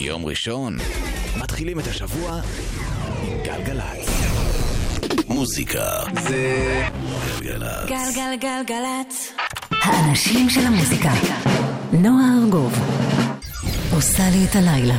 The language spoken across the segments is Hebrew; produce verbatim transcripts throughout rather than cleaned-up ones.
יום ראשון, מתחילים את השבוע עם גלגלצ. מוזיקה זה גלגלצ. גלגלגלגלצ. האנשים של המוזיקה. נועה ארגוב עושה לי את הלילה.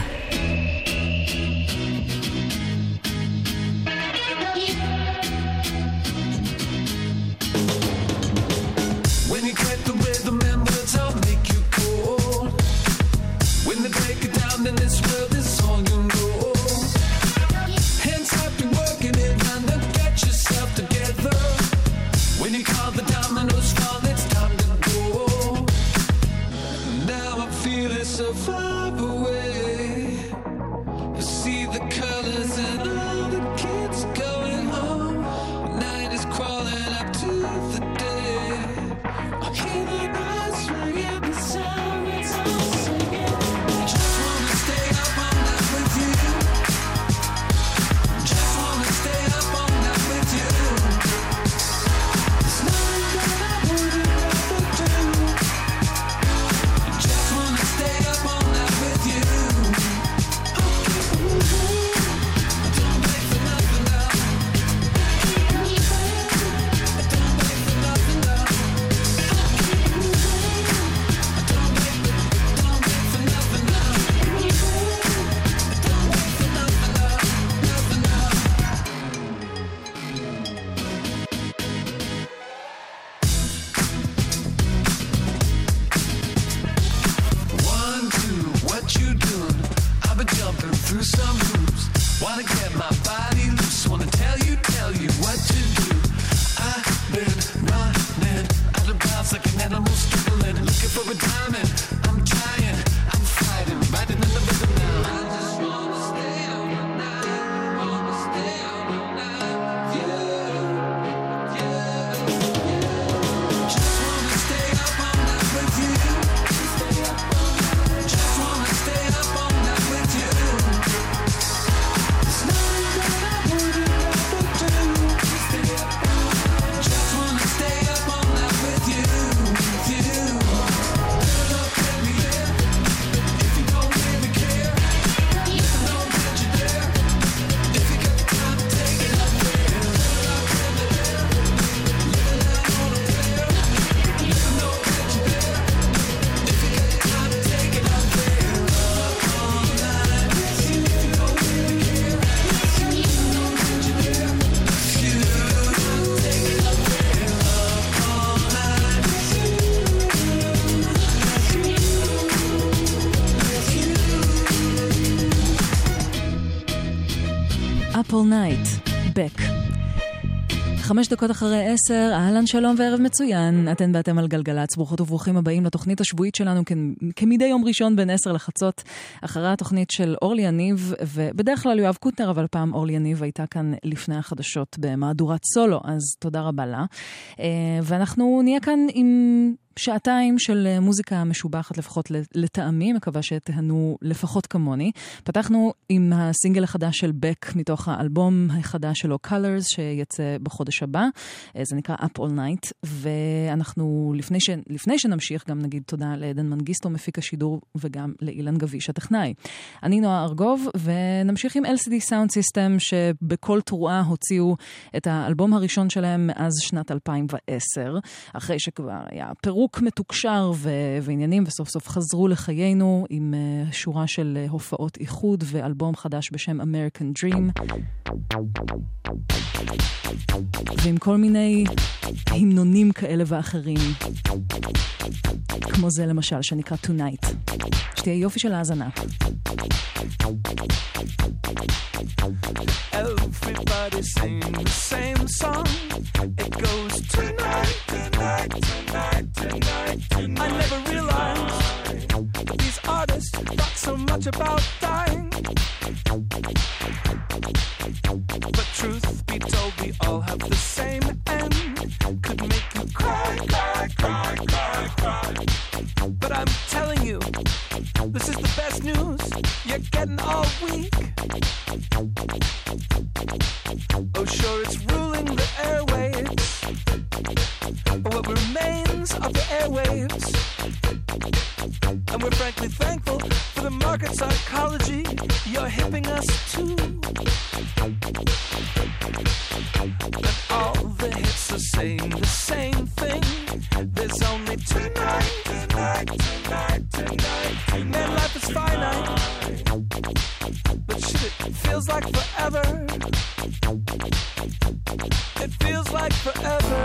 Up All Night, Beck. חמש דקות אחרי עשר, אהלן שלום וערב מצוין. אתן ואתם על גלגלצ, ברוכות וברוכים הבאים לתוכנית השבועית שלנו כ- כמדי יום ראשון בין עשר לחצות, אחרי התוכנית של אורלי יניב, ובדרך כלל יואב קוטנר, אבל פעם אורלי יניב הייתה כאן לפני החדשות במהדורת סולו, אז תודה רבה לה. ואנחנו נהיה כאן עם שעתיים של מוזיקה משובחת לפחות לטעמי, מקווה שתהנו לפחות כמוני. פתחנו עם הסינגל החדש של בק מתוך האלבום החדש שלו Colors שיצא בחודש הבא, זה נקרא Up All Night, ואנחנו לפני, ש... לפני שנמשיך גם נגיד תודה לעדן מנגיסטו מפיק השידור וגם לאילן גביש הטכנאי. אני נועה ארגוב ונמשיך עם אל סי די Sound System שבכל תרועה הוציאו את האלבום הראשון שלהם מאז שנת אלפיים ועשר, אחרי שכבר היה פירוק מתוקשר ו- ועניינים, וסוף סוף חזרו לחיינו עם uh, שורה של uh, הופעות איחוד ואלבום חדש בשם American Dream, ועם כל מיני המנונים כאלה ואחרים, כמו זה למשל שנקרא Tonight. שתהיה יופי של האזנה. Everybody sing the same song. It goes tonight, tonight, tonight, tonight, tonight. I never realized that these artists thought so much about dying. But truth be told, we all have the same end. Could make you cry, cry, cry, cry, cry. But I'm telling you, this is the best news you're getting all week. Oh, sure, it's ruling the airwaves, but what remains of the airwaves? And we're frankly thankful for the market psychology see you're hipping us too. But all the hits are saying the same thing. There's only tonight, tonight, tonight, tonight, tonight. Man, life is finite. But shit, it feels like forever. It feels like forever.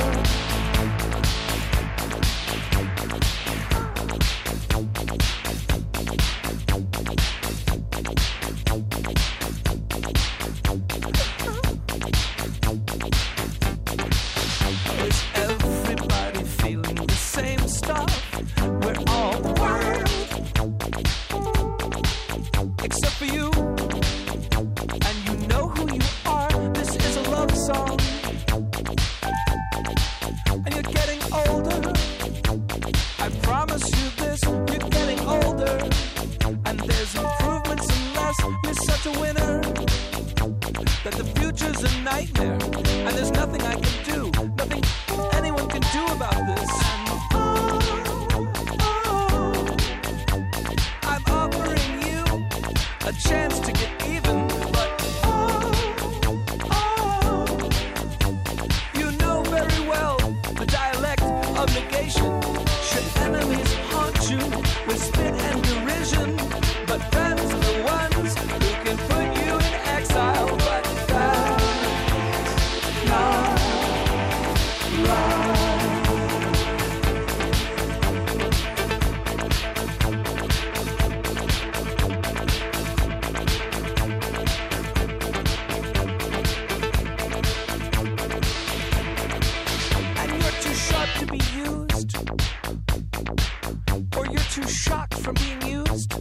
Is everybody feeling the same stuff? We're all wild, except for you. And you know who you are. This is a love song. And you're getting older. I promise you this, you're getting older. And there's improvements unless you're such a winner. That the future's a nightmare. And there's nothing I can do, nothing anyone can do about this. And oh, oh, I'm offering you a chance to get even. But oh, oh, you know very well the dialect of negation. Should enemies haunt you with spit and derision, but friends are the ones who can put you in exile. But that's not right. And you're too sharp to be used, or you're too shocked from being used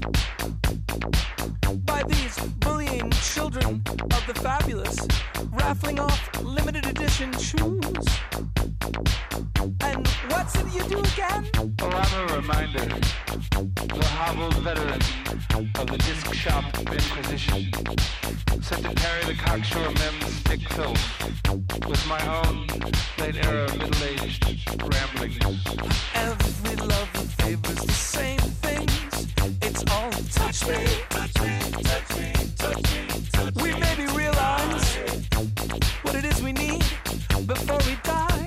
by these bullying children of the fabulous, raffling off limited edition shoes. And what's it you do again? Oh, I'm a reminder, the hobbled veteran of the disc shop inquisition, set to carry the cocksure mem's thick filth with my own late-era middle-aged ramblings. Every lover favors the same things. It's all touch me, touch me, touch me, touch me, touch me. We maybe realize what it is we need before we die.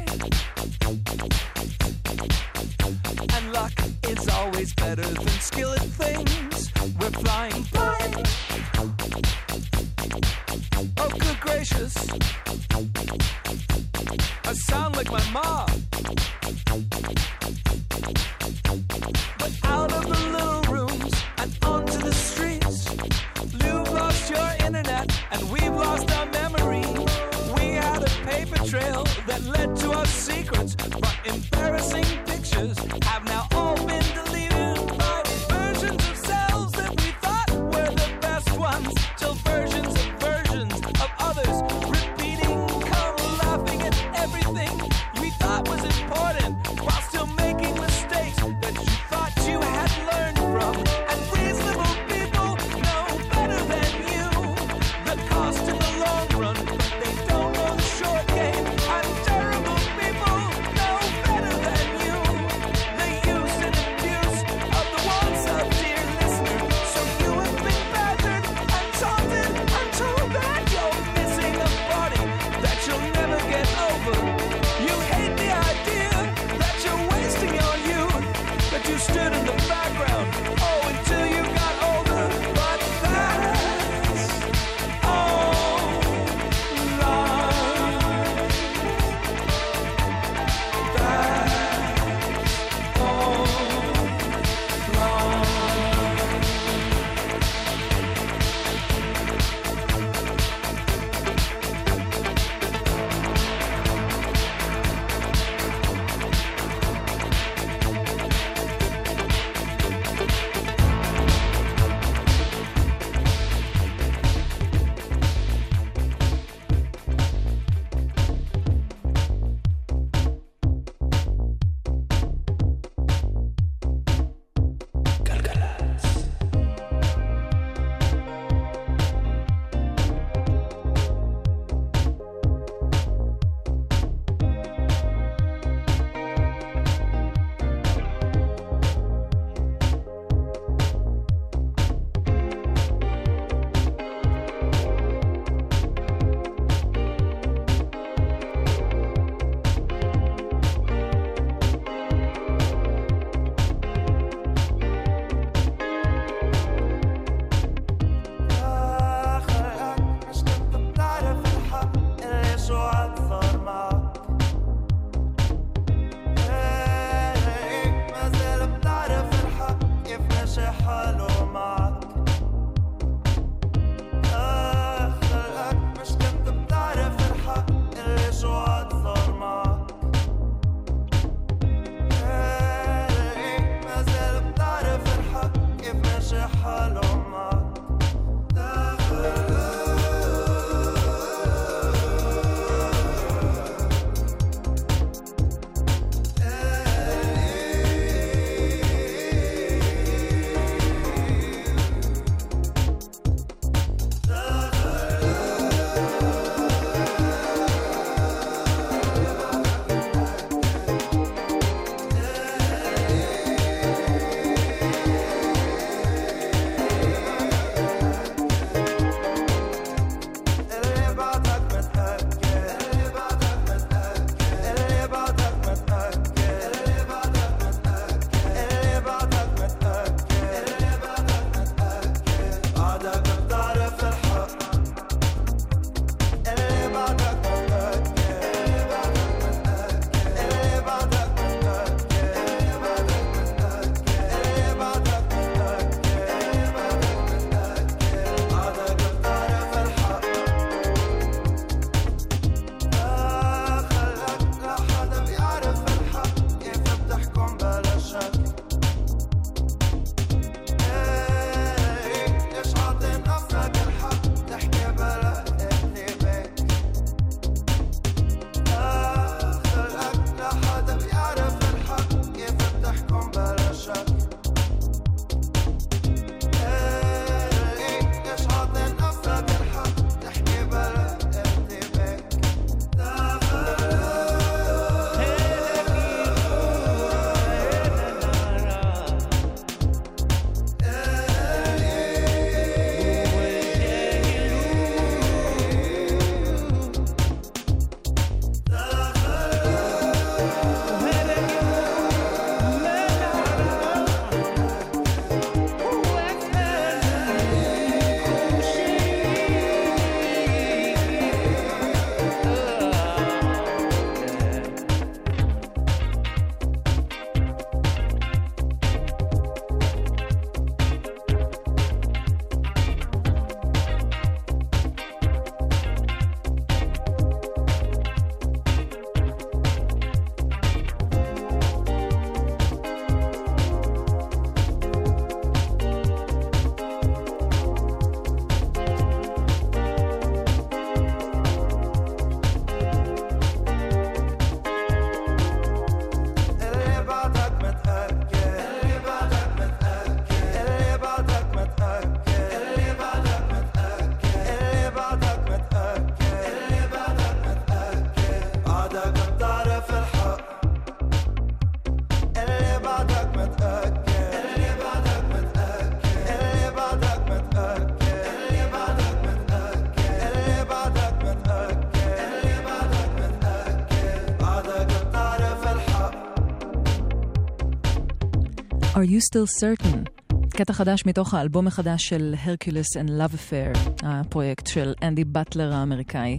And luck is always better than skill at things. We're flying blind. Oh, good gracious. I sound like my mom. But out of the little rooms and onto the streets, you've lost your internet and we've lost our memory. We had a paper trail that led to our secrets, but embarrassing pictures have now all been deleted by versions of selves that we thought were the best ones, till versions of versions of others repeating, come laughing at everything we thought was important, while still making mistakes that you thought you had learned from. And reasonable people know better than you the cost in the long run, but they don't know the short game. And terrible people Are You Still Certain? קטע חדש מתוך האלבום החדש של Hercules and Love Affair, הפרויקט של אנדי בטלר האמריקאי.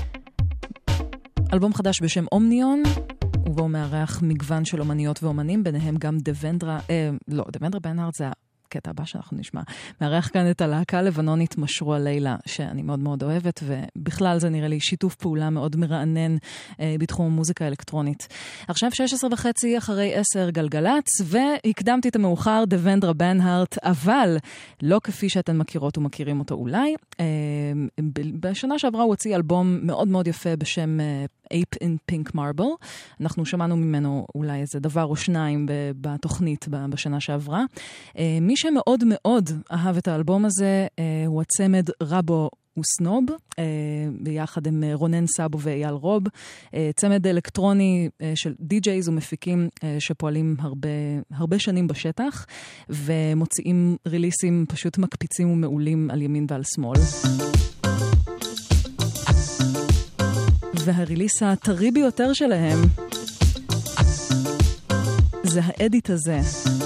אלבום חדש בשם אומניון, ובו מארח מגוון של אומניות ואומנים, ביניהם גם דוונדרה, אה, לא, דוונדרה בנהארט זה הקטע הבא שאנחנו נשמע. מארח כאן את הלהקה לבנונית משרוע לילה, שאני מאוד מאוד אוהבת, ובכלל זה נראה לי שיתוף פעולה מאוד מרענן אה, בתחום המוזיקה האלקטרונית. עכשיו שש עשרה וחצי אחרי עשר גלגלץ, והקדמתי את המאוחר דוונדרה בנהארט, אבל לא כפי שאתן מכירות ומכירים אותו אולי. אה, בשנה שעברה הוא הוציא אלבום מאוד מאוד יפה בשם אה, Ape in Pink Marble. אנחנו שמענו ממנו אולי איזה דבר או שניים בתוכנית בשנה שעברה. מי שמאוד מאוד אהב את האלבום הזה הוא הצמד רבו וסנוב, ביחד עם רונן סאבו ואייל רוב. צמד אלקטרוני של די-ג'ייז ומפיקים שפועלים הרבה, הרבה שנים בשטח, ומוציאים ריליסים פשוט מקפיצים ומעולים על ימין ועל שמאל. והריליס הטרי ביותר שלהם זה האדיט הזה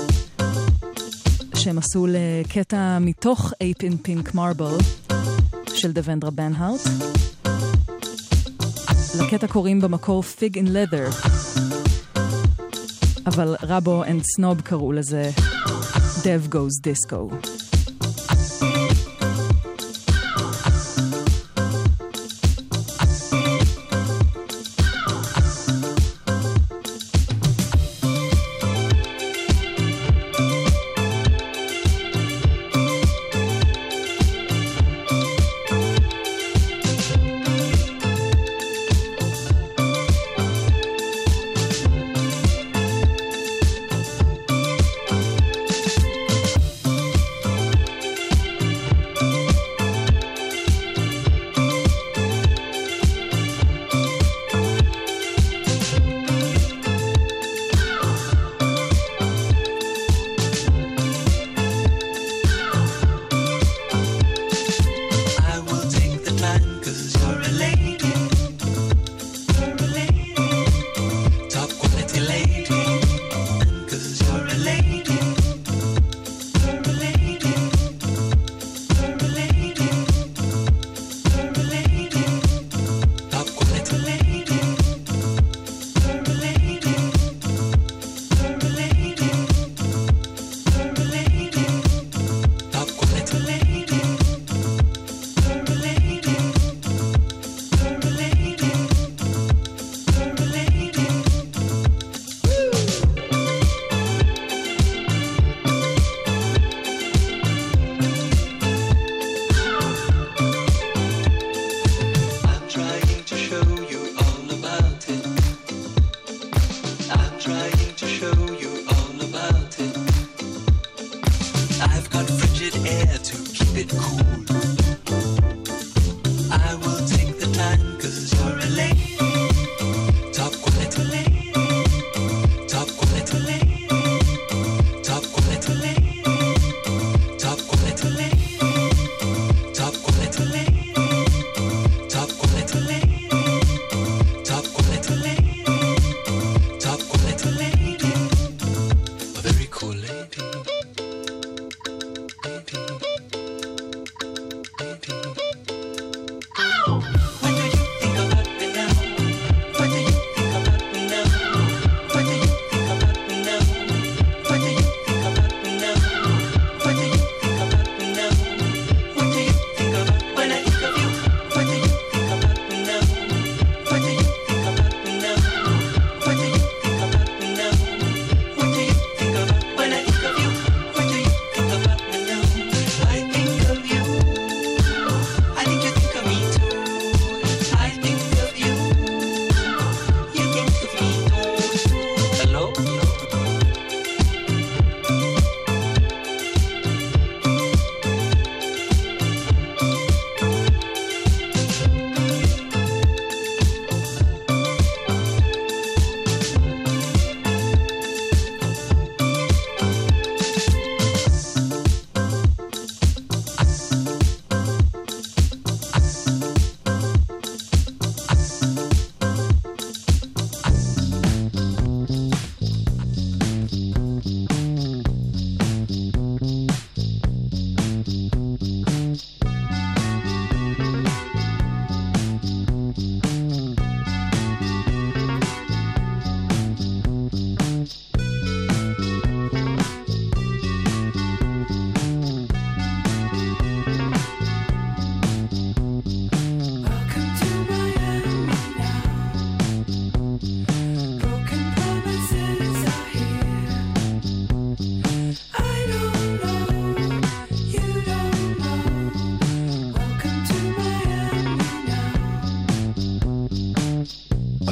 שהם עשו לקטע מתוך Ape in Pink Marble של דוונדרה בנהארט. לקטע קוראים במקור Fig in Leather, אבל רבו and סנוב קראו לזה Dev Goes Disco.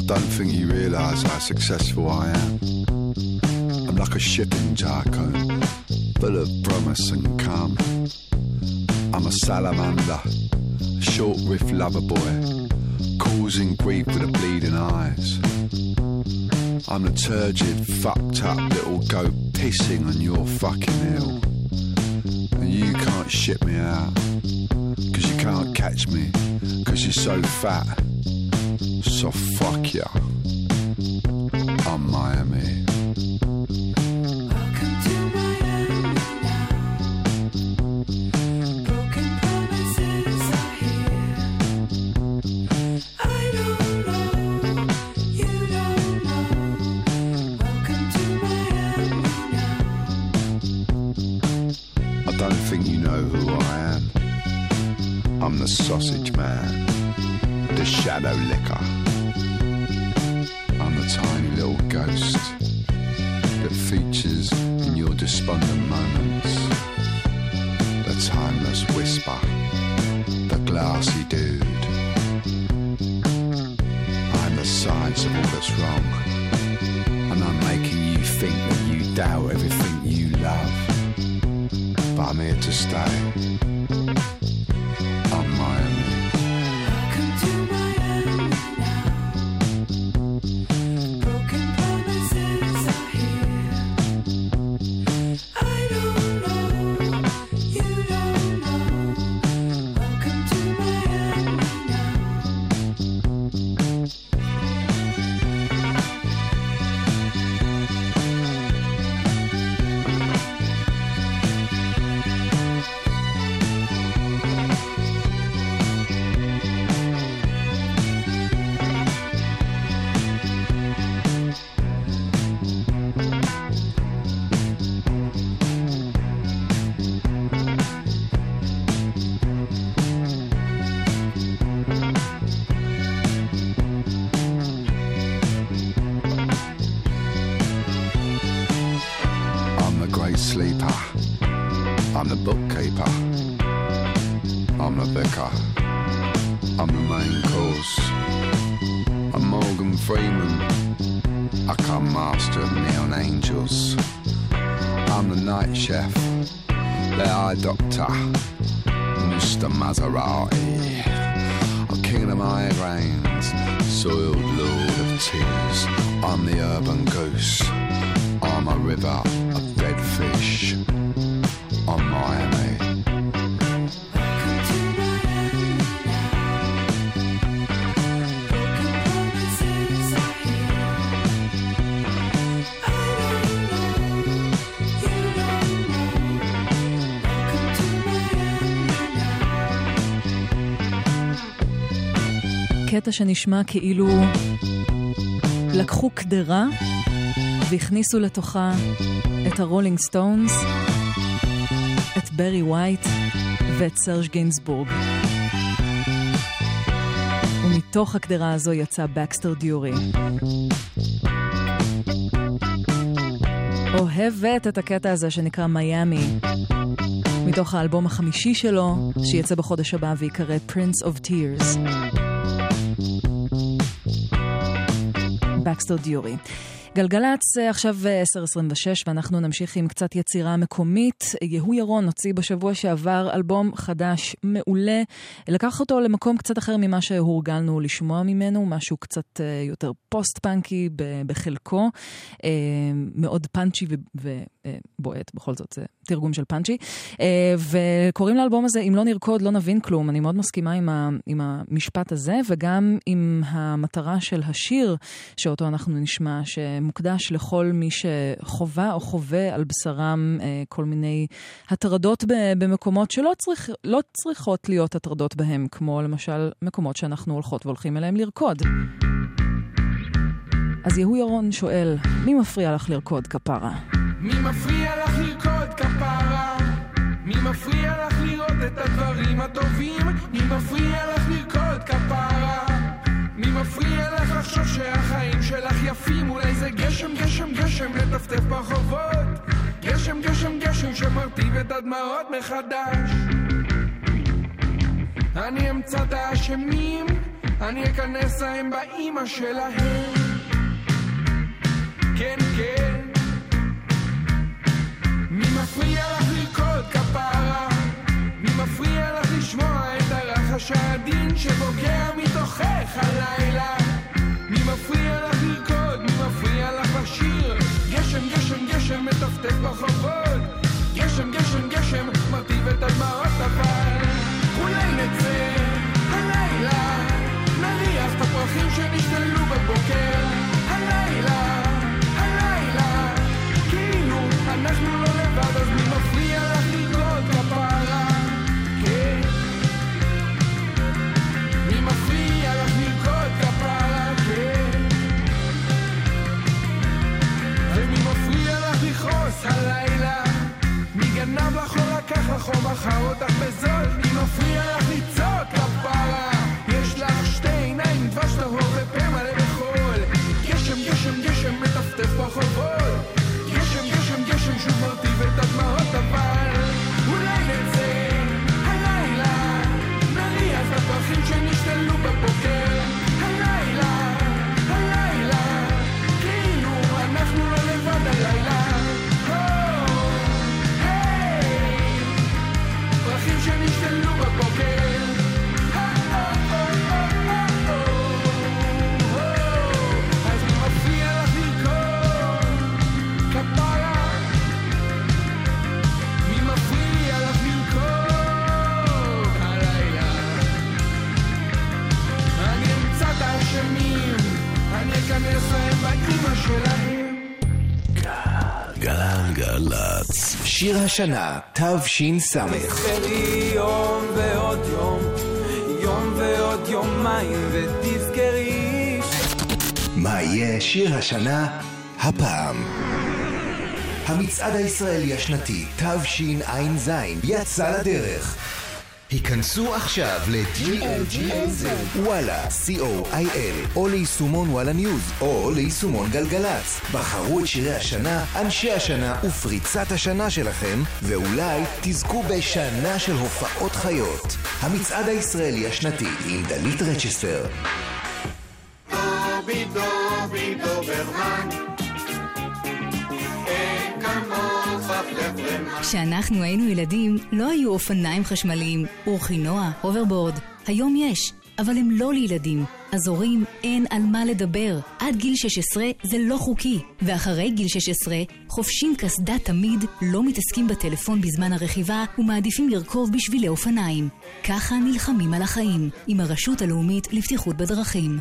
don't think you realise how successful I am. I'm like a shipping jargo, full of promise and calm. I'm a salamander, a short riff lover boy, causing grief with the bleeding eyes. I'm the turgid, fucked up little goat pissing on your fucking hill. And you can't ship me out, cause you can't catch me, cause you're so fat. So fuck ya, I'm Miami. I'm the sausage man, the shadow licker. I'm the tiny little ghost that features in your despondent moments. The timeless whisper, the glassy dude. I'm the science of all that's wrong, and I'm making you think that you doubt everything you love. But I'm here to stay. I'm Miami. Welcome to Miami now. Broken promises are here. I don't know, you don't know. Welcome to Miami now. Sleeper, I'm the bookkeeper, I'm the vicar, I'm the main course, I'm Morgan Freeman, I come master of neon angels, I'm the night chef, the eye doctor, Mister Maserati, I'm king of the migraines, soiled lord of tears, I'm the urban goose, I'm a river of dead fish, I'm Miami. Welcome to Miami now. Broken promises are here. I don't know, you don't know. Welcome to Miami now. קטע שנשמע כאילו לקחו קדרה והכניסו לתוכה את הרולינג סטונס, את ברי ווייט ואת סרג' גינסבורג. ומתוך הקדרה הזו יצא בקסטר דיורי. אוהבת את הקטע הזה שנקרא מיאמי, מתוך האלבום החמישי שלו, שיצא בחודש הבא ויקרא Prince of Tears. בקסטר דיורי. גלגלץ עכשיו עשר עשרים ושש, ואנחנו נמשיך עם קצת יצירה מקומית. יהוא ירון הוציא בשבוע שעבר אלבום חדש מעולה. לקח אותו למקום קצת אחר ממה שהורגלנו לשמוע ממנו, משהו קצת יותר פוסט-פאנקי בחלקו, מאוד פאנצ'י ובועט, בכל זאת זה תרגום של פאנצ'י. וקוראים לאלבום הזה אם לא נרקוד לא נבין כלום. אני מאוד מסכימה עם, ה, עם המשפט הזה, וגם עם המטרה של השיר שאותו אנחנו נשמע, שמוקדש לכל מי שחובה או חווה על בשרם כל מיני הטרדות במקומות שלא צריך, לא צריכות להיות הטרדות בהם, כמו למשל מקומות שאנחנו הולכות והולכים אליהם לרקוד. אז יהוא ירון שואל, מי מפריע לך לרקוד כפרה? מי מפריע לך לרקוד כפרה? מי מפריע לך לראות את הדברים הטובים? מי מפריע לך לרקוד כפרה? מי מפריע לך לחשוב שהחיים שלך יפים? אולי זה גשם, גשם, גשם לטפטף ברחובות, גשם, גשם, גשם שמרטיב את הדמעות מחדש. אני אמצא את האשמים אני אכנס להם באמא שלהם. כן, כן, מי מפריע לך לרקוד כפרה? מי מפריע לך לשמוע את הרחש העדין שבוקע מתוכך הלילה? מי מפריע לך לרקוד? מי מפריע לך לשיר? גשם, גשם, גשם מטפטף ברחובות, גשם, גשם, גשם מרטיב את הדמעות, אבל אולי נצא הלילה, נריח את הפרחים שנשתלו בבוקר, הלילה, הלילה, כאילו אנחנו לא לבד, אז מי מפריע לך לרקוד כפרה? כן, מי מפריע לך לרקוד כפרה? כן, ומי מפריע לך לכעוס הלילה? מי גנב לך או לקח לך או מכר אותך בזול? מי מפריע לך לצעוק כפרה? יש לך שתי עיניים, דבש טהור ופה מלא בחול, גשם, גשם, גשם מטפטף ברחובות, גשם, גשם, גשם שוב מרטיב את הדמעות, אבל אולי נצא הלילה, נריח את הפרחים שנשתלו בבוקר, הלילה, הלילה, כאילו אנחנו לא לבד הלילה. פרחים שנשתלו בבוקר, אז מי מפריע לך לרקוד כפרה? מי מפריע לך לרקוד הלילה? אני אמצא את האשמים, אני אכנס להם באמא שלהם. גלגלצ, שיר השנה, תש"ס. תזכרי יום ועוד יום, יום ועוד יומיים, ותזכרי מה יהיה שיר השנה הפעם? המצעד הישראלי השנתי תשע"ז יצא לדרך. היכנסו עכשיו ל-ג'י אל ג'י אל זד, וואלה, סי או איי אל, או ליישומון וואלה ניוז, או ליישומון גלגלץ. בחרו את שירי השנה, אנשי השנה ופריצת השנה שלכם, ואולי תזכו בשנה של הופעות חיות. המצעד הישראלי השנתי עם דלית רצ'סטר. דובי דובי דוברמן, אין כמוך פלפלמן. כשאנחנו היינו ילדים, לא היו אופניים חשמליים, אורחינוע, הוברבורד. היום יש, אבל הם לא לילדים. אז הורים, אין על מה לדבר. עד גיל שש עשרה זה לא חוקי. ואחרי גיל שש עשרה, חופשים קסדה תמיד, לא מתעסקים בטלפון בזמן הרכיבה, ומעדיפים לרכוב בשבילי אופניים. ככה נלחמים על החיים, עם הרשות הלאומית לבטיחות בדרכים.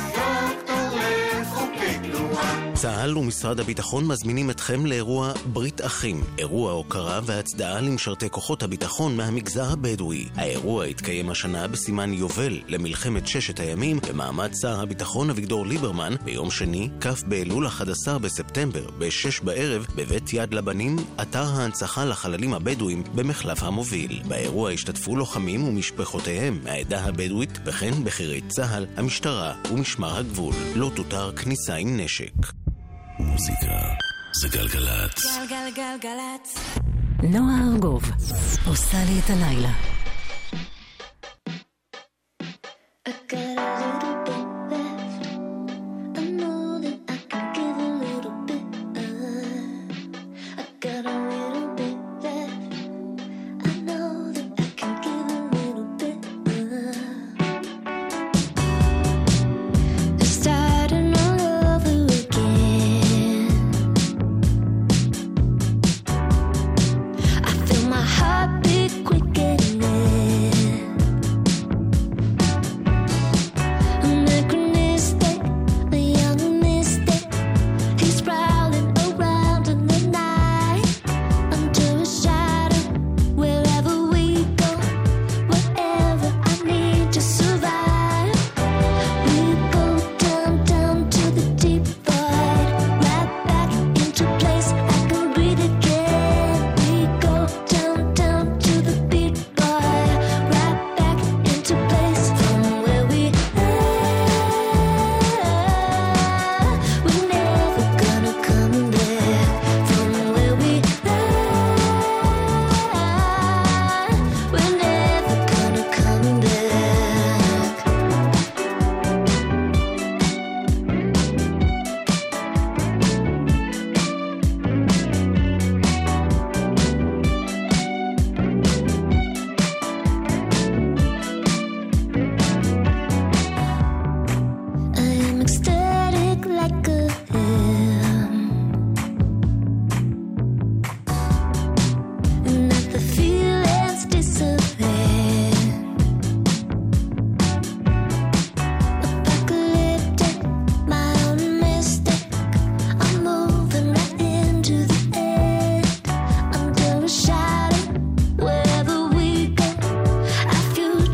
צה"ל ומשרד הביטחון מזמינים אתכם לאירוע ברית אחים, אירוע הוקרה והצדעה למשרתי כוחות הביטחון מהמגזר הבדואי. האירוע התקיים השנה בסימן יובל למלחמת ששת הימים במעמד שר הביטחון אביגדור ליברמן ביום שני, כ' באלול אחד עשר בספטמבר, בשש בערב, בבית יד לבנים, אתר ההנצחה לחללים הבדואים במחלף המוביל. באירוע השתתפו לוחמים ומשפחותיהם מהעדה הבדואית, וכן בחירי צה"ל, המשטרה ומשמר הגבול. לא תותר כניסה עם נשק. מוזיקה זה גלגלצ. גלגלגלגלצ. נועה ארגוב עושה לי את הלילה. Quick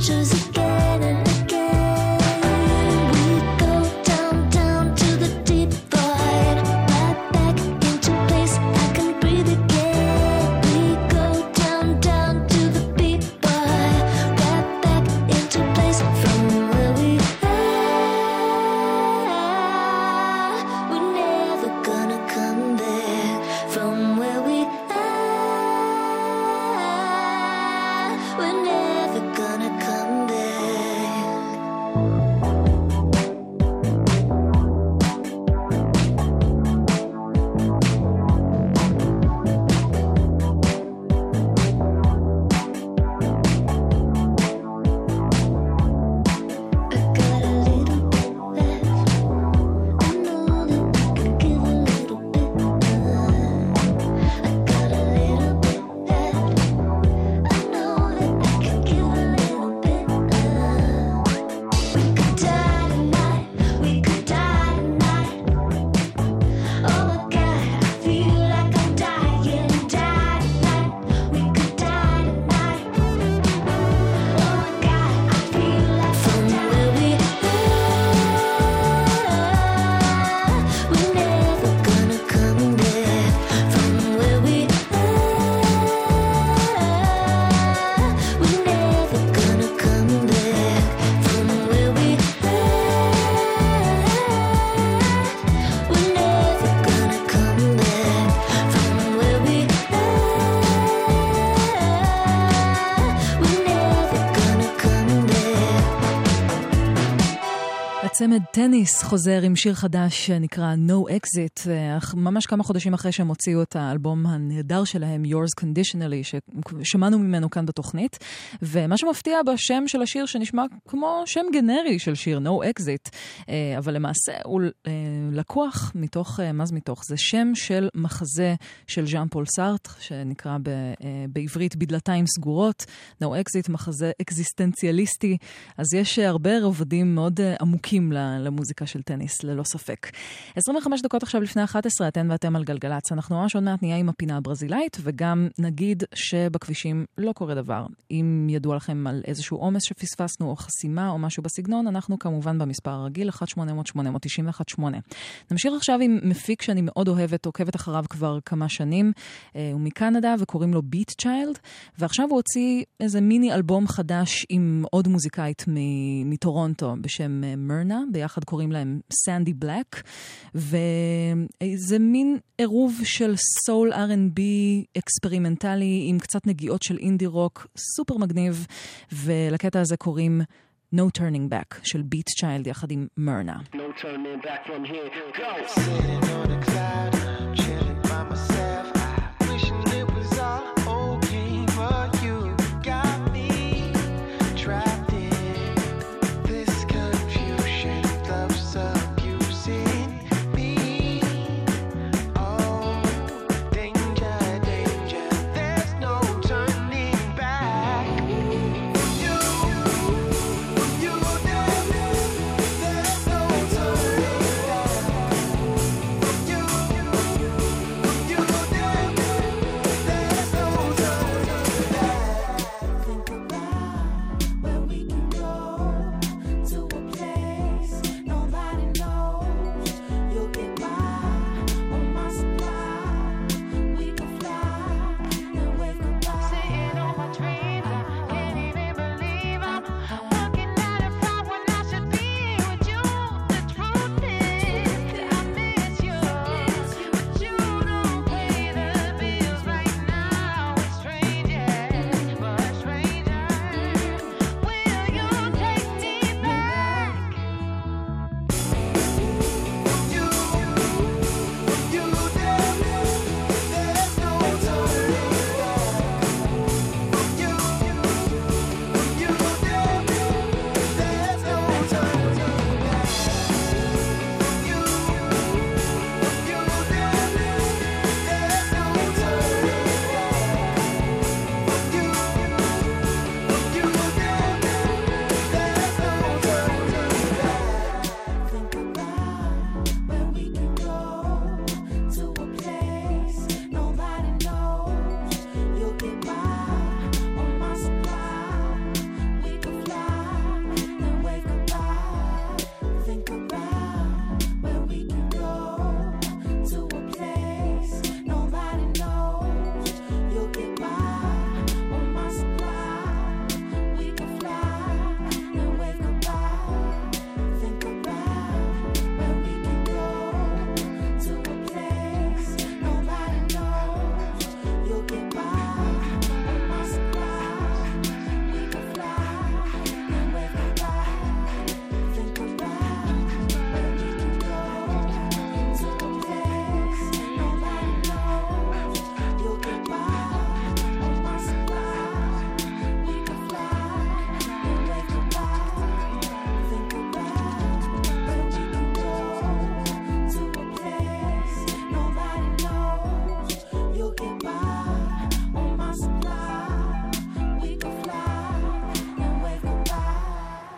adventures again and again. We go down, down to the deep void, right back into place I can breathe again. We go down, down to the beat, boy, right back into place from where we are. We're never gonna come back from where we are. We're never gonna come back. I got a little bit left. I know that I can give a little bit more. I got a little bit left. I know that I can give a little bit more. We could die tonight. We could die tonight. Oh my God, I feel like I'm dying, die tonight. We could die tonight. Oh my God, I feel like from where we are, we're never gonna come back. From where we are, we're never gonna come back. From where we are, we're never gonna come back. From where we are, we're never gonna come back. הצמד טניס חוזר עם שיר חדש שנקרא No Exit, אך ממש כמה חודשים אחרי שהם הוציאו את האלבום הנהדר שלהם, Yours Conditionally, ששמענו ממנו כאן בתוכנית. ומה שמפתיע בשם של השיר שנשמע כמו שם גנרי של שיר, No Exit, אבל למעשה הוא לקוח מתוך, מה זה מתוך? זה שם של מחזה של ז'אן פול סארטר, שנקרא ב, בעברית בדלתיים סגורות, No Exit, מחזה אקזיסטנציאליסטי. אז יש הרבה רבדים מאוד עמוקים למוזיקה של טניס, ללא ספק. עשרים וחמש דקות עכשיו לפני אחת עשרה, אתן ואתם על גלגלץ. אנחנו ממש עוד מעט נהיה עם הפינה הברזילאית, וגם נגיד שבכבישים לא קורה דבר. אם ידוע לכם על איזשהו עומס שפספסנו, או חסימה, או משהו בסגנון, אנחנו כמובן במספר הרגיל, אחת שמונה אפס אפס שמונה תשע אחת שמונה. נמשיך עכשיו עם מפיק שאני מאוד אוהבת, עוקבת אחריו כבר כמה שנים, הוא מקנדה, וקוראים לו ביט צ'יילד, ועכשיו הוא הוציא איזה מיני אלבום חדש עם עוד מוזיקאית מטורונטו, בשם מרנה, ביחד קוראים להם סנדי בלק, וזה מין עירוב של סול אר אנד בי אקספרימנטלי, עם קצת נגיעות של אינדי רוק, סופר מגניב, ולקטע הזה קוראים No Turning Back, של ביט צ'יילד יחד עם מרנה. No turning back from here. Go! Sitting on a cloud, chilling by myself, wishing it was all okay, but you got me trapped in this confusion, love's abusing me. Oh, danger, danger, there's no turning back. You, you there, there's no turning back. You,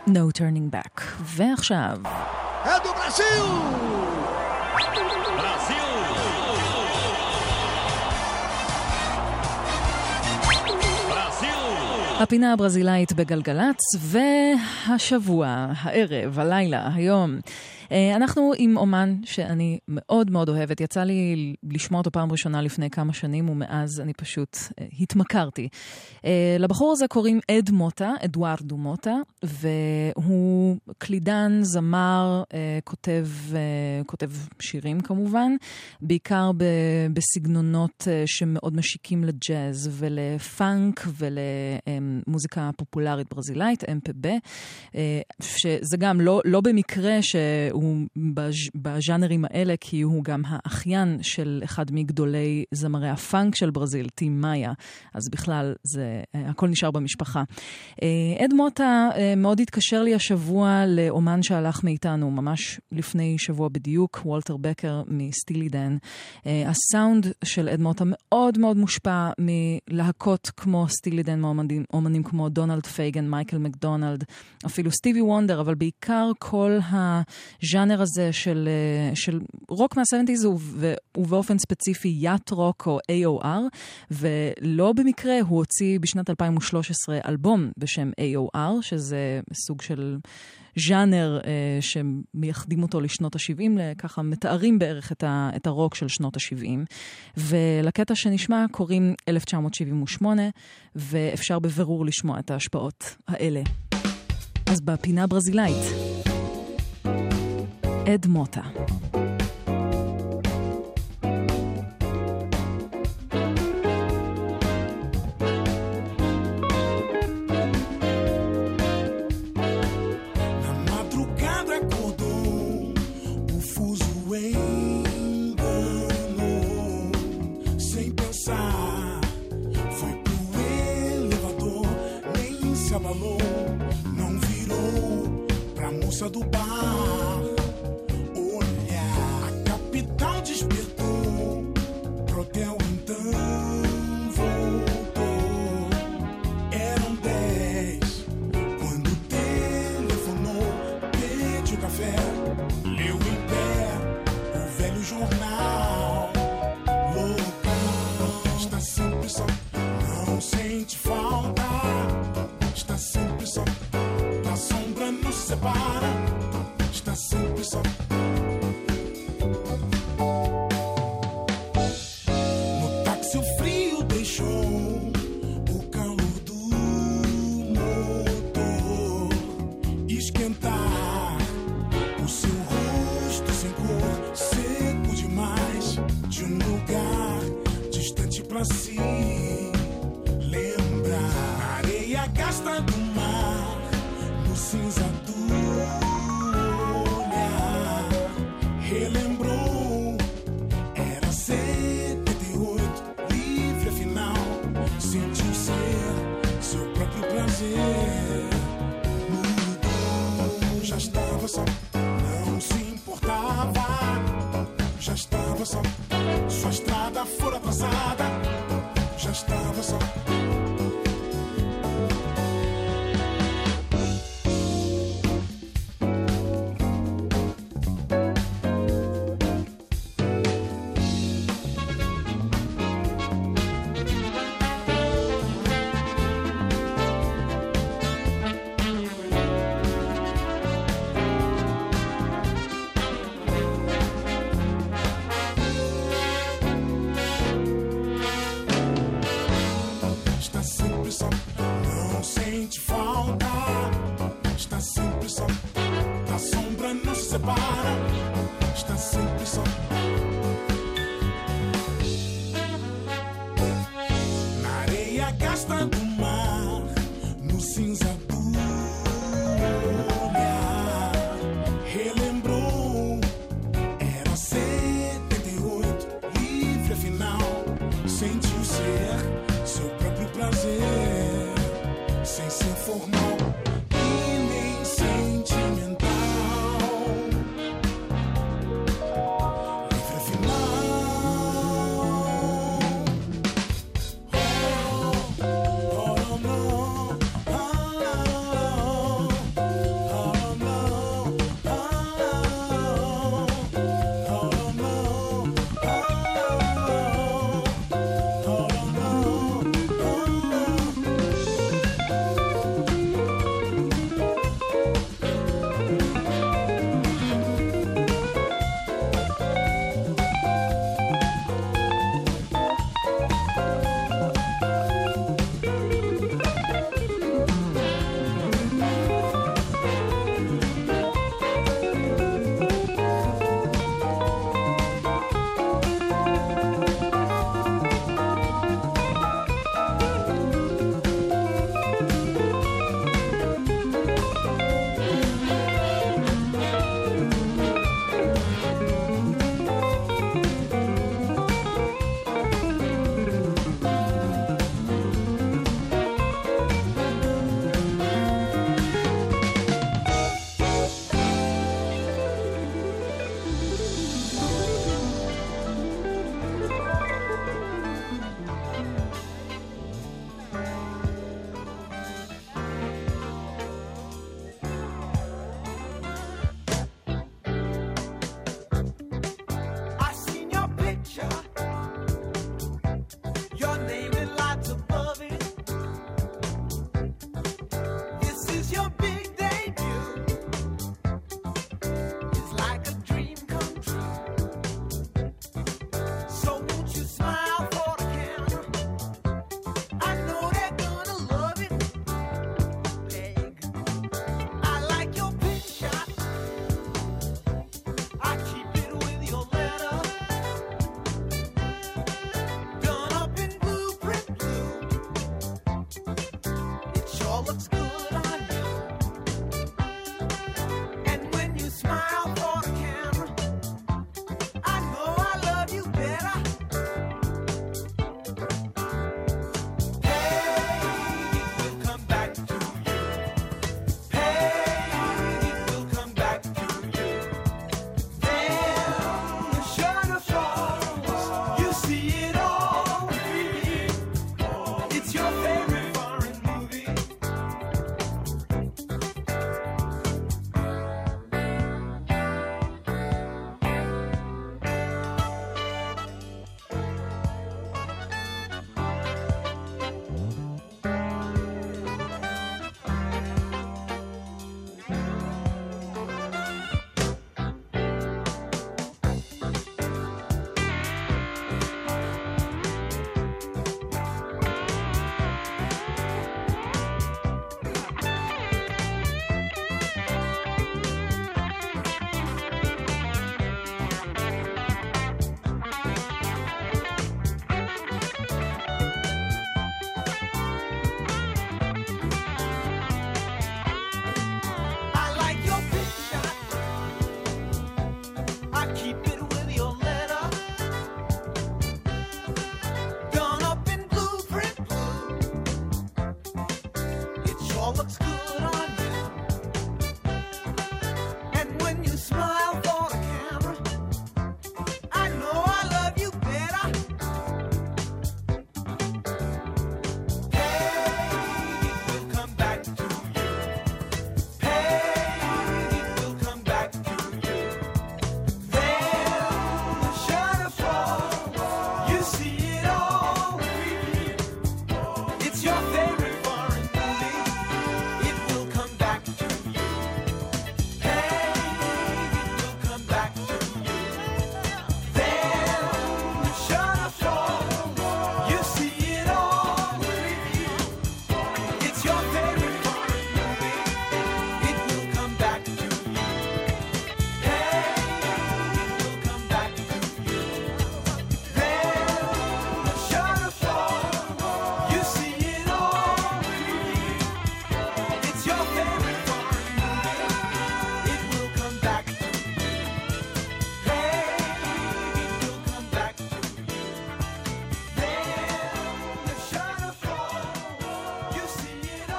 No Turning Back. ועכשיו... É do Brasil! Brasil! הפינה הברזילאית בגלגלץ, והשבוע, הערב, הלילה, היום, אנחנו עם אומן שאני מאוד מאוד אוהבת. יצא לי לשמוע אותו פעם ראשונה לפני כמה שנים, ומאז אני פשוט התמכרתי. לבחור הזה קוראים אד מוטה, אדוארדו מוטה, והוא קלידן, זמר, כותב, כותב שירים כמובן, בעיקר בסגנונות שמאוד משיקים לג'אז ולפאנק ולמוזיקה פופולרית ברזילאית, אם פי בי, שזה גם לא, לא במקרה שהוא הוא בז'אנרים האלה, כי הוא גם האחיין של אחד מגדולי זמרי הפאנק של ברזיל, טים מאיה, אז בכלל זה, הכל נשאר במשפחה. אד מוטה מאוד התקשר לי השבוע לאומן שהלך מאיתנו, ממש לפני שבוע בדיוק, וולטר בקר מסטילי דן. הסאונד של אד מוטה מאוד מאוד מושפע מלהקות כמו סטילי דן, אומנים, אומנים כמו דונלד פייגן, מייקל מקדונלד, אפילו סטיבי וונדר, אבל בעיקר כל הז'אנר הזה של, של רוק מה-שבעים ובאופן ספציפי יאט רוק או איי או אר, ולא במקרה הוא הוציא בשנת אלפיים ושלוש עשרה אלבום בשם איי או אר, שזה סוג של ז'אנר אה, שמייחדים אותו לשנות ה-שבעים, ככה מתארים בערך את, ה, את הרוק של שנות ה-שבעים. ולקטע שנשמע קוראים אלף תשע מאות שבעים ושמונה, ואפשר בבירור לשמוע את ההשפעות האלה. אז בפינה ברזילאית, אד מוטה. Do bar, olhar, a capital despertou, pro hotel então voltou. Eram dez quando telefonou, pediu café, leu em pé o velho jornal local. Está sempre só, não sente falta. Está sempre só, a sombra nos separa. Está sempre só. No táxi o frio deixou o calor do motor esquentar o seu rosto sem cor, seco demais, de um lugar distante pra se lembrar. Areia gasta do mar no cinza do relembrou, era setenta e oito, livre afinal, sentiu ser seu próprio prazer. Mudou, já estava só, não se importava, já estava só, sua estrada fora atrasada, já estava só.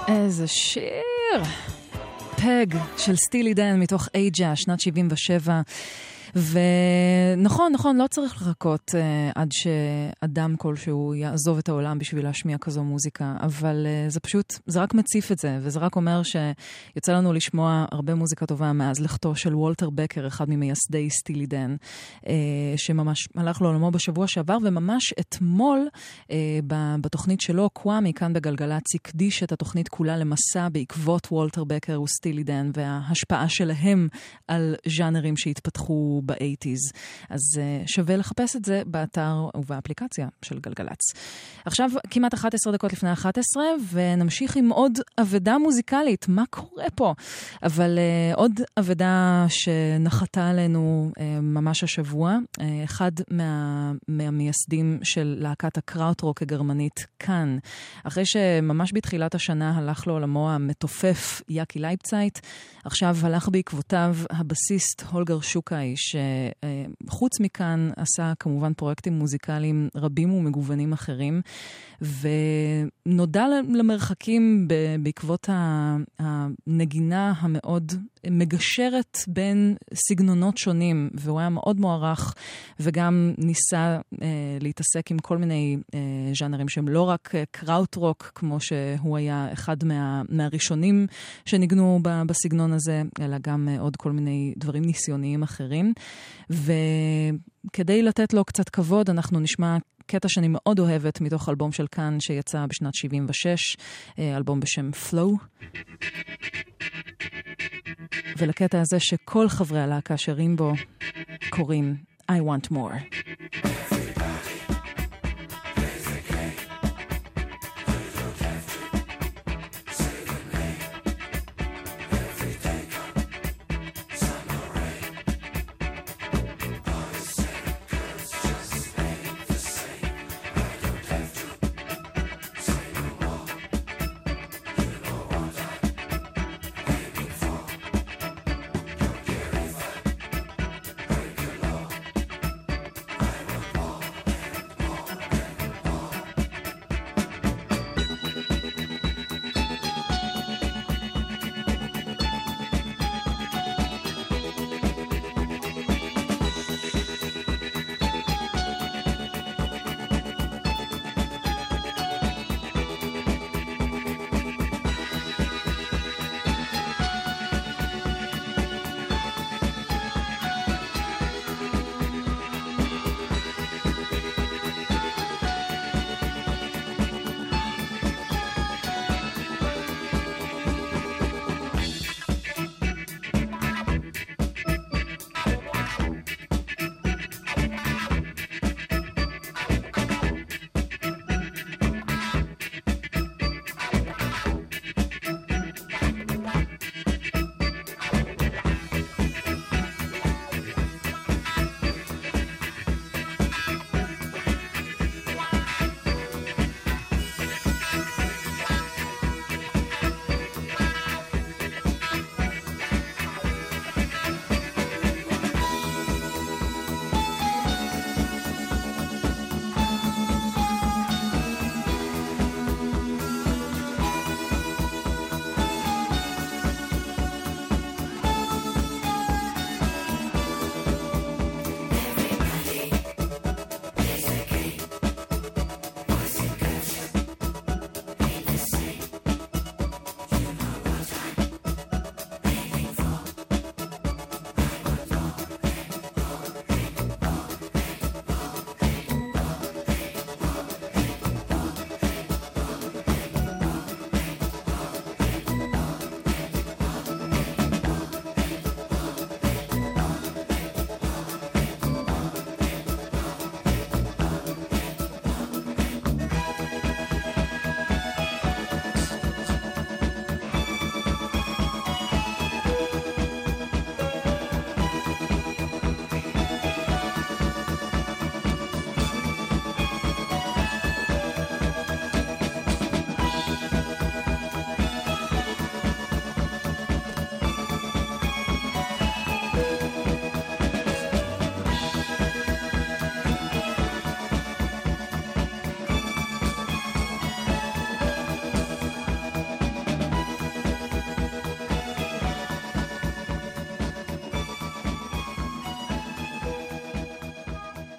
איזה שיר! פג של סטילי דן מתוך אייג'ה, שנת שבעים ושבע. ונכון, נכון, לא צריך לחכות uh, עד שאדם כלשהו יעזוב את העולם בשביל להשמיע כזו מוזיקה, אבל uh, זה פשוט, זה רק מציף את זה, וזה רק אומר שיוצא לנו לשמוע הרבה מוזיקה טובה מאז לכתו של וולטר בקר, אחד ממייסדי סטילי דן, uh, שממש הלך לעולמו בשבוע שעבר, וממש אתמול uh, בתוכנית שלו, קוואמי, כאן בגלגלצ, הקדיש את התוכנית כולה למסע בעקבות וולטר בקר וסטילי דן, וההשפעה שלהם על ז'אנרים שהתפתחו ב-שמונים. אז uh, שווה לחפש את זה באתר ובאפליקציה של גלגלץ. עכשיו כמעט אחת עשרה דקות לפני אחת עשרה, ונמשיך עם עוד עבודה מוזיקלית. מה קורה פה? אבל uh, עוד עבודה שנחתה עלינו uh, ממש השבוע, uh, אחד מה, מהמייסדים של להקת הקראוטרוק הגרמנית כאן. אחרי שממש בתחילת השנה הלך לעולמו המתופף יקי לייפצייט, עכשיו הלך בעקבותיו הבסיסט הולגר שוקאי, שחוץ מכאן עשה כמובן פרויקטים מוזיקליים רבים ומגוונים אחרים, ונודע למרחקים בעקבות הנגינה המאוד מגשרת בין סגנונות שונים, והוא היה מאוד מוערך, וגם ניסה אה, להתעסק עם כל מיני אה, ז'אנרים שהם לא רק קראוטרוק, כמו שהוא היה אחד מה, מהראשונים שניגנו בסגנון הזה, אלא גם אה, עוד כל מיני דברים ניסיוניים אחרים. וכדי לתת לו קצת כבוד, אנחנו נשמע קטע שאני מאוד אוהבת מתוך אלבום של כאן שיצא בשנת שבעים ושש, אלבום בשם Flow. ולקטע הזה שכל חברי הלהקה שרים בו קוראים I Want More.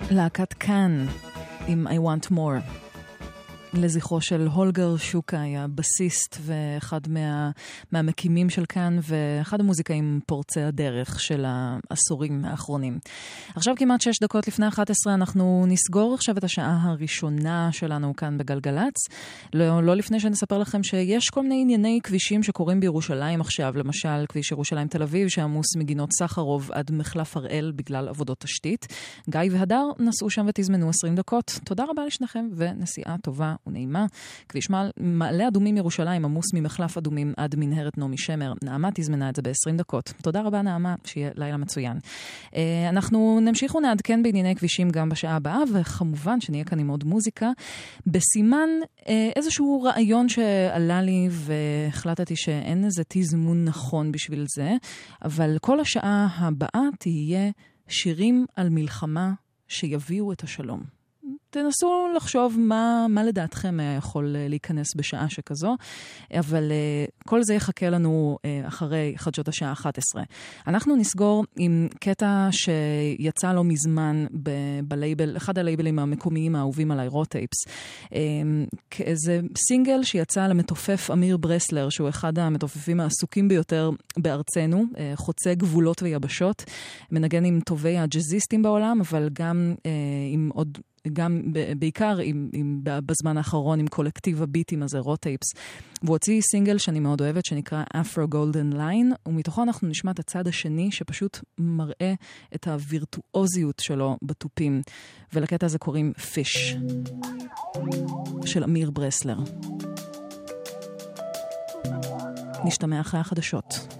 להקת כאן עם I Want More. לזכרו של הולגר שוקאי, הבסיסט ואחד מה, מהמקימים של כאן, ואחד המוזיקאים פורצי הדרך של העשורים האחרונים. עכשיו כמעט שש דקות לפני אחת עשרה, אנחנו נסגור עכשיו את השעה הראשונה שלנו כאן בגלגלץ. לא, לא לפני שנספר לכם שיש כל מיני ענייני כבישים שקורים בירושלים עכשיו, למשל כביש ירושלים תל אביב, שעמוס מגינות סחרוב עד מחלף הראל בגלל עבודות תשתית. גיא והדר נסעו שם ותזמנו עשרים דקות. תודה רבה לשניכם ונסיעה טובה ונעימה. כביש מעלה אדומים ירושלים עמוס ממחלף אדומים עד מנהרת נעמי שמר. נעמה תזמנה את זה ב-עשרים דקות. תודה רבה נעמה, שיהיה לילה מצוין. אנחנו נמשיך ונעדכן בענייני כבישים גם בשעה הבאה, וכמובן שנהיה כאן עם עוד מוזיקה. בסימן איזשהו רעיון שעלה לי והחלטתי שאין איזה תזמון נכון בשביל זה, אבל כל השעה הבאה תהיה שירים על מלחמה שיביאו את השלום. תנסו לחשוב מה, מה לדעתכם יכול להיכנס בשעה שכזו, אבל uh, כל זה יחכה לנו uh, אחרי חדשות השעה אחת עשרה. אנחנו נסגור עם קטע שיצא לא מזמן ב- בלייבל, אחד הלייבלים המקומיים האהובים עליי, רוטייפס. Um, זה סינגל שיצא למתופף אמיר ברסלר, שהוא אחד המתופפים העסוקים ביותר בארצנו, uh, חוצה גבולות ויבשות, מנגן עם טובי הג'זיסטים בעולם, אבל גם uh, עם עוד גם בעיקר עם, עם, בזמן האחרון עם קולקטיב הביטים הזה, רוטייפס. והוא הוציא סינגל שאני מאוד אוהבת, שנקרא Afro Golden Line, ומתוכו אנחנו נשמע את הצד השני, שפשוט מראה את הווירטואוזיות שלו בטופים. ולקטע הזה קוראים Fish, של אמיר ברסלר. נשתמע אחרי החדשות.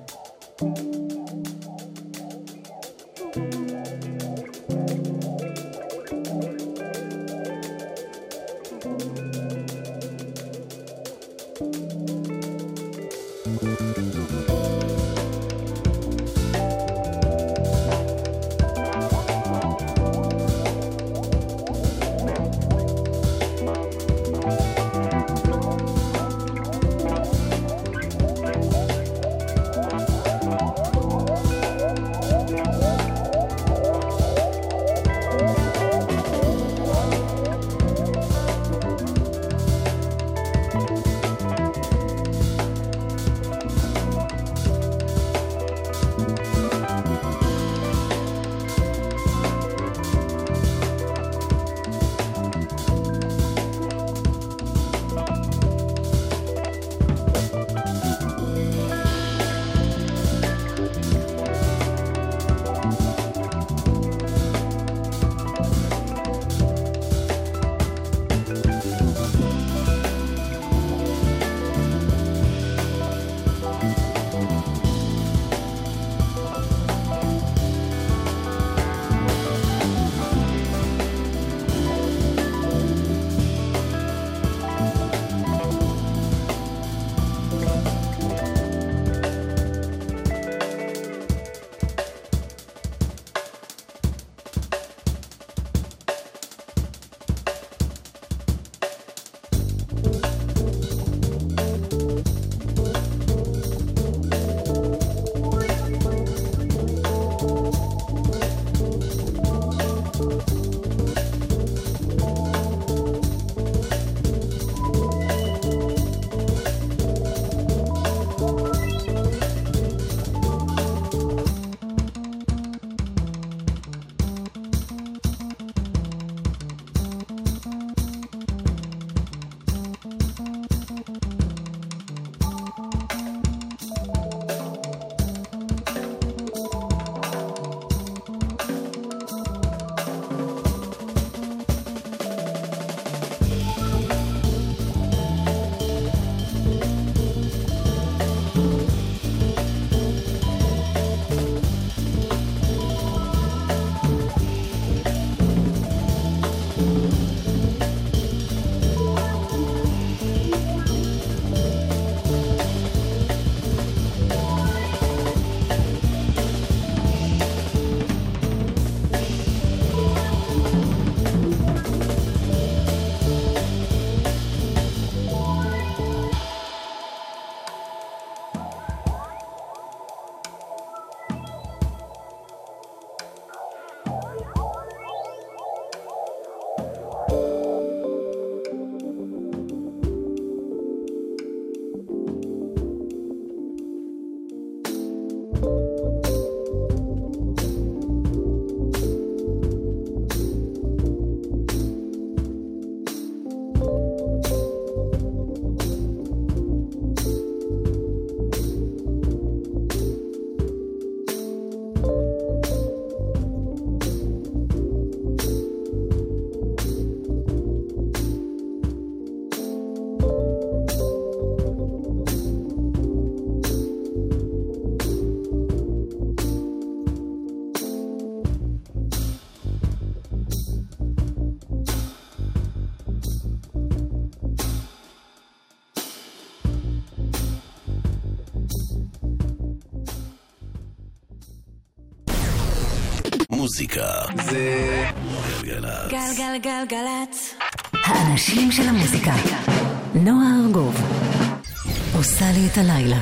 מוזיקה זה גלגלצ. גלגלגלגלצ. האנשים של המוזיקה. נועה ארגוב עושה לי את הלילה.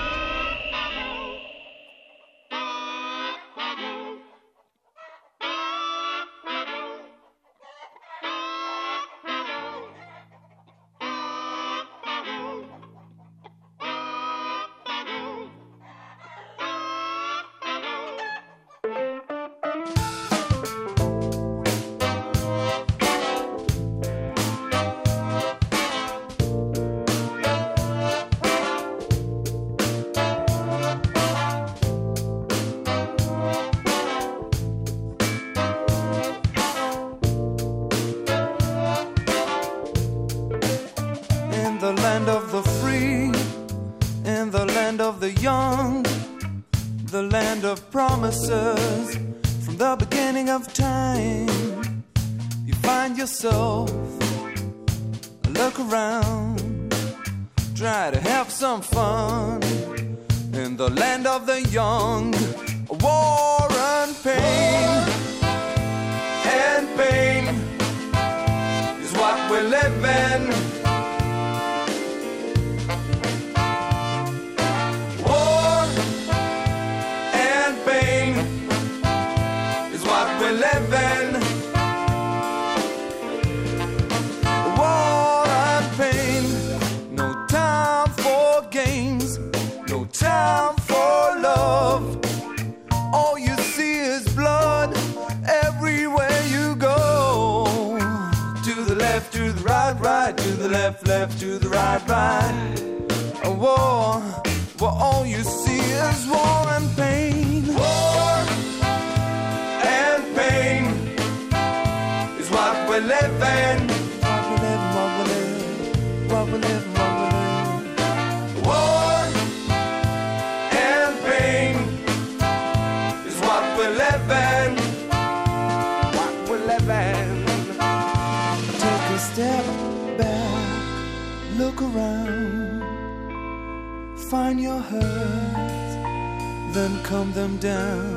From the beginning of time, you find yourself, look around, try to have some fun in the land of the young. War and pain, and pain is what we live in. Living war and pain, no time for games, no time for love. All you see is blood everywhere you go. To the left, to the right, right, to the left, left, to the right, right. A war, where all you see is war and pain. War and pain is what we live in. What we live, what we live, what we live, what we live. War and pain is what we live in. What we live in. Take a step back, look around, find your hurts, then calm them down.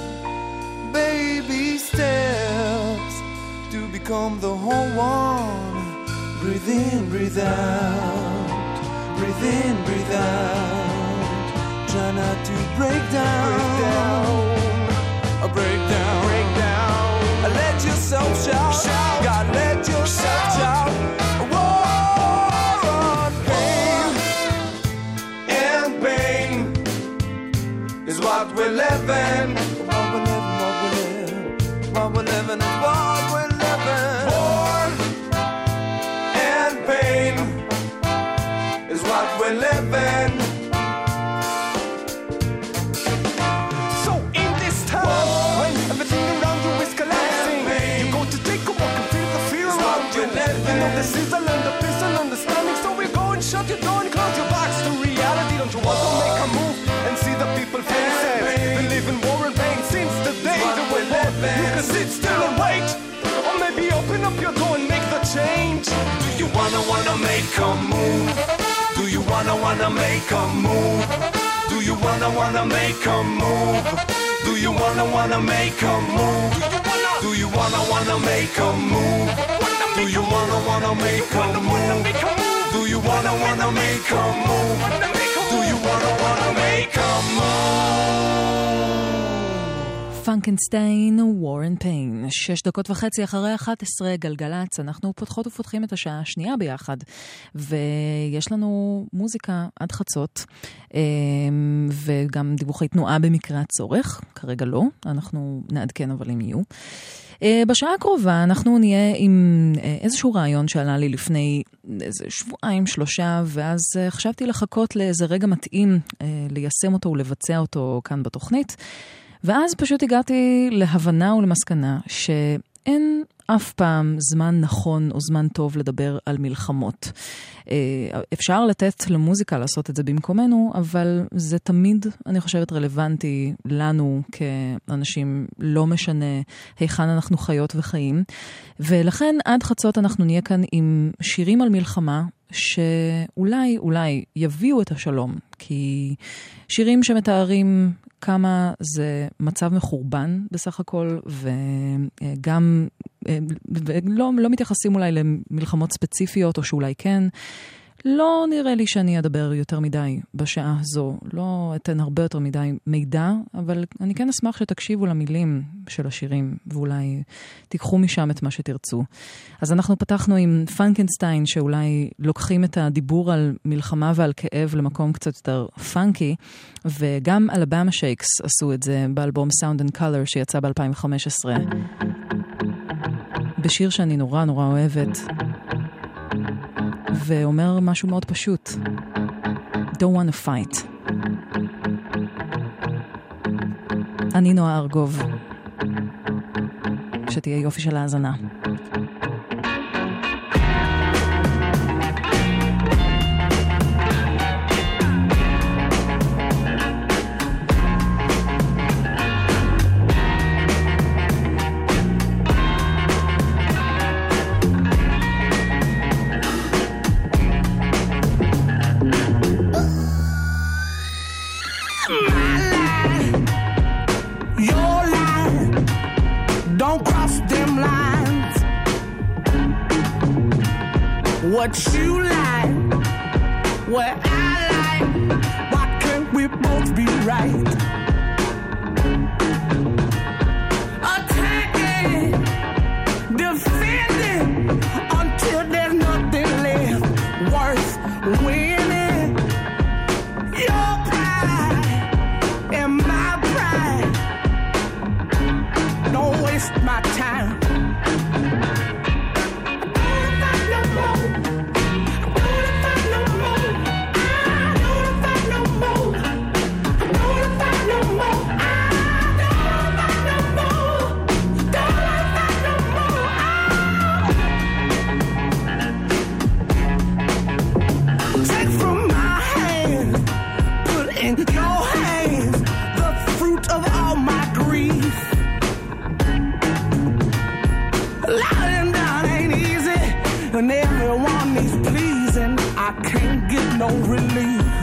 Baby steps to become the whole one. Breathe in, breathe out. Breathe in, breathe out. Try not to break down. Break down. A break down. Break down. Let yourself shout. Shout. God, let yourself shout. War on pain and pain is what we live in. What we live in. What we're living is what we're living. War and pain is what we're living. So in this time, war, when everything around you is collapsing, you go to take a walk and feel the fear around you. You know this is a land of peace and understanding, so we go and shut your door and close your box to reality. Don't you want to make a move and see the people faces? We live in war and pain since the day that we're living. You can sit still and wait, or maybe open up your door and make the change. Do you wanna wanna make a move? Do you wanna wanna make a move? Do you wanna wanna make a move? Do you wanna wanna make a move? Do you wanna wanna make a move? Do you wanna wanna make a move? Do you wanna wanna make a move? Do you wanna wanna make a move? פרנקנשטיין, War and Pain. שש דקות וחצי אחרי אחת עשרה גלגלץ, אנחנו פותחות ופותחים את השעה השנייה ביחד, ויש לנו מוזיקה עד חצות, וגם דיווחי תנועה במקרה הצורך, כרגע לא, אנחנו נעדכן אבל אם יהיו. בשעה הקרובה אנחנו נהיה עם איזשהו רעיון שעלה לי לפני איזה שבועיים, שלושה, ואז חשבתי לחכות לאיזה רגע מתאים ליישם אותו ולבצע אותו כאן בתוכנית, ואז פשוט הגעתי להבנה ולמסקנה שאין אף פעם זמן נכון או זמן טוב לדבר על מלחמות. אפשר לתת למוזיקה לעשות את זה במקומנו, אבל זה תמיד, אני חושבת, רלוונטי לנו כאנשים, לא משנה היכן אנחנו חיות וחיים. ולכן עד חצות אנחנו נהיה כאן עם שירים על מלחמה, שאולי, אולי יביאו את השלום, כי שירים שמתארים כמה זה מצב מחורבן בסך הכל, וגם לא, לא מתייחסים אולי למלחמות ספציפיות, או שאולי כן. לא נראה לי שאני אדבר יותר מדי בשעה הזו, לא אתן הרבה יותר מדי מידע, אבל אני כן אשמח שתקשיבו למילים של השירים, ואולי תיקחו משם את מה שתרצו. אז אנחנו פתחנו עם פנקנסטיין, שאולי לוקחים את הדיבור על מלחמה ועל כאב למקום קצת יותר פאנקי, וגם אלבמה שייקס עשו את זה באלבום Sound and Color שיצא ב-אלפיים וחמש עשרה. בשיר שאני נורא נורא אוהבת, ואומר משהו מאוד פשוט. Don't want to fight. אני נועה ארגוב. שתהיה יופי של האזנה. What you like, what I like, why can't we both be right? Attacking, defending, until there's nothing left worth winning. Your pride and my pride, don't waste my time. And everyone is pleasing, I can't get no relief.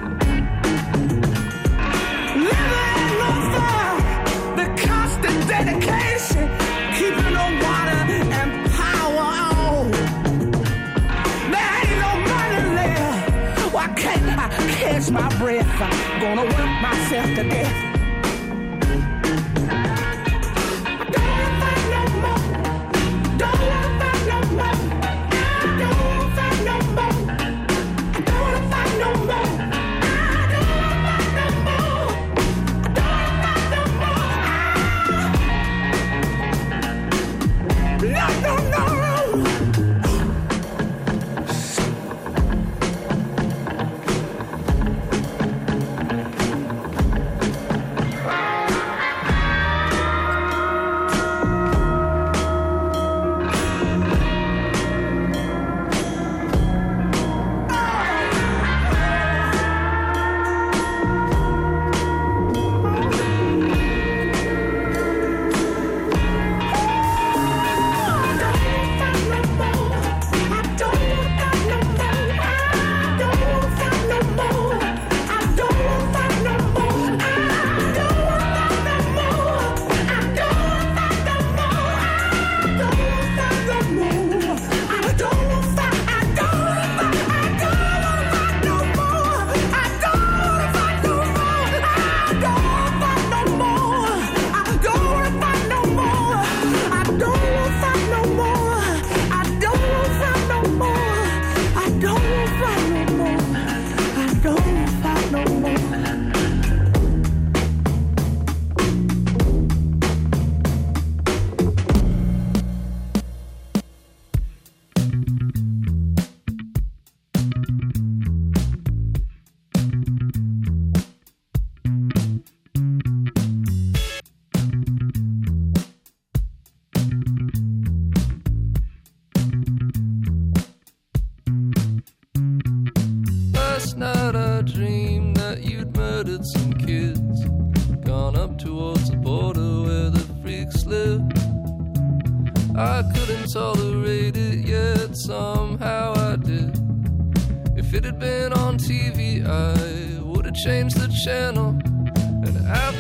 Living in no fire, the constant dedication, keeping the water and power on. There ain't no money left, why can't I catch my breath? I'm gonna work myself to death. I couldn't tolerate it, yet somehow I did. If it had been on T V, I would have changed the channel. And after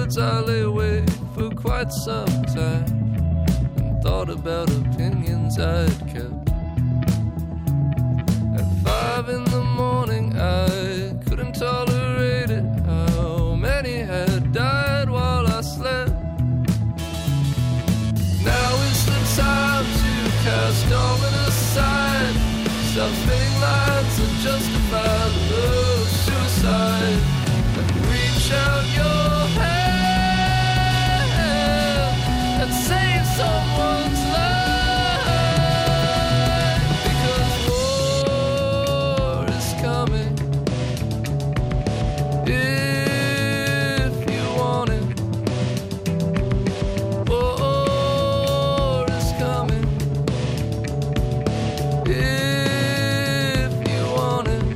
words I lay awake for quite some time and thought about opinions I'd kept. At five in the morning I couldn't tolerate it, how many had died while I slept. Now is the time to cast all it aside. Stop spinning lines that justify the suicide. And reach out your hand and save someone's life. Because war is coming if you want it. War is coming if you want it.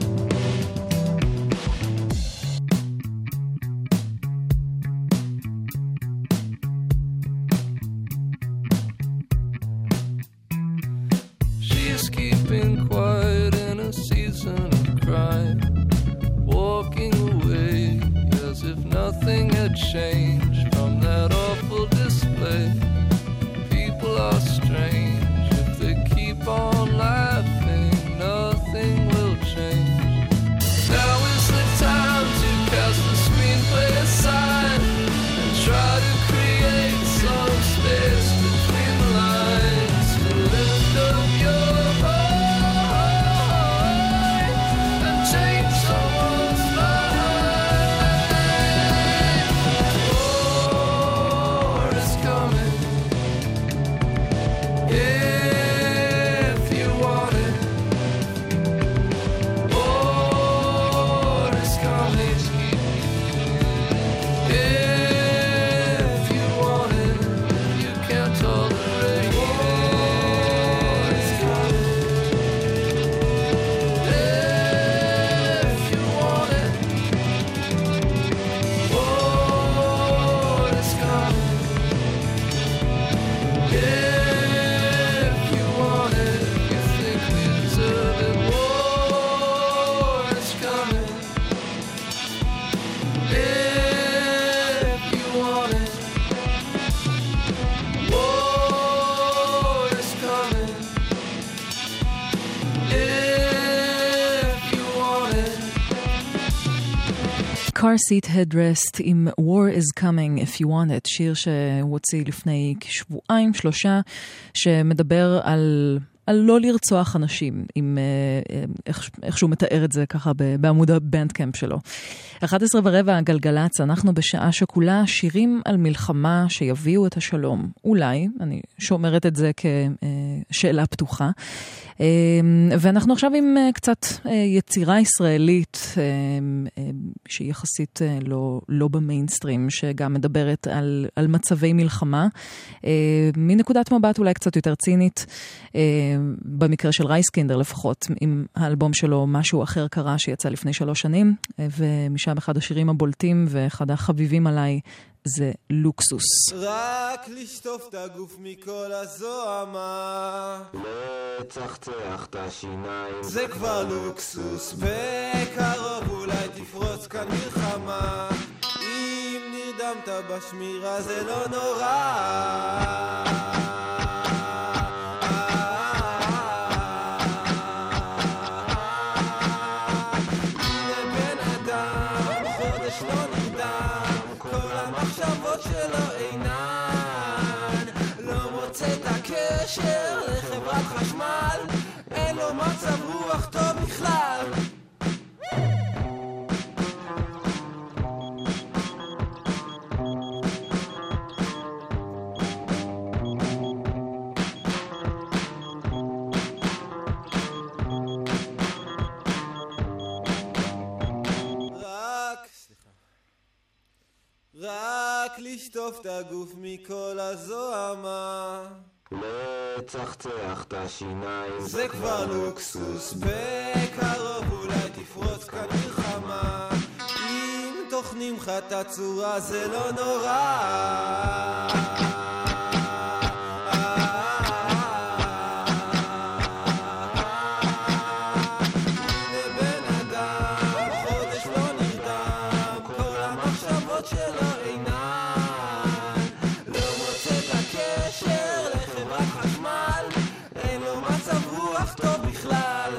She's keeping quiet in a season of crime, walking away as if nothing had changed from that awful display. People are strange, if they keep on laughing, nothing will change. Now is the time to cast the screenplay aside and try to create some space between the lines to lift up your heart and change someone's life. War is coming if you want it. War is coming if you want it. You can't tolerate it. War is coming if you want it. War is coming if you want it. You think we deserve it. War is coming if you want it. War is coming if you want it. Car Seat Headrest עם War is Coming If You Want It, שיר שהוא הוציא לפני כשבועיים, שלושה, שמדבר על, על לא לרצוח אנשים, עם, איך, איך שהוא מתאר את זה ככה בעמוד הבנדקאמפ שלו. אחת עשרה ורבע גלגלץ, אנחנו בשעה שכולה שירים על מלחמה שיביאו את השלום. אולי, אני שומרת את זה כשאלה פתוחה. ואנחנו עכשיו עם קצת יצירה ישראלית שהיא יחסית לא, לא במיינסטרים, שגם מדברת על, על מצבי מלחמה, מנקודת מבט אולי קצת יותר צינית, במקרה של רייסקינדר לפחות, עם האלבום שלו משהו אחר קרה שיצא לפני שלוש שנים, ומשם אחד השירים הבולטים ואחד החביבים עליי זה לוקסוס. רק לשטוף את הגוף מכל הזוהמה, לצחצח את השיניים, זה כבר לוקסוס. בקרוב אולי תפרוץ כאן מלחמה, אם נרדמת בשמירה זה לא נורא. שלו אינן, לא מוצא את הקשר לחברת חשמל, אין לו מצב רוח טוב בכלל. רק לשטוף את הגוף מכל הזוהמה, לצחצח את השיניים, זה כבר לוקסוס. בקרוב אולי תפרוץ כאן מלחמה, אם תוכנים לך את הצורה זה לא נורא. שלו אינן עינן. לא מוצא את הקשר לחברת חשמל, אין לו מצב רוח טוב בכלל.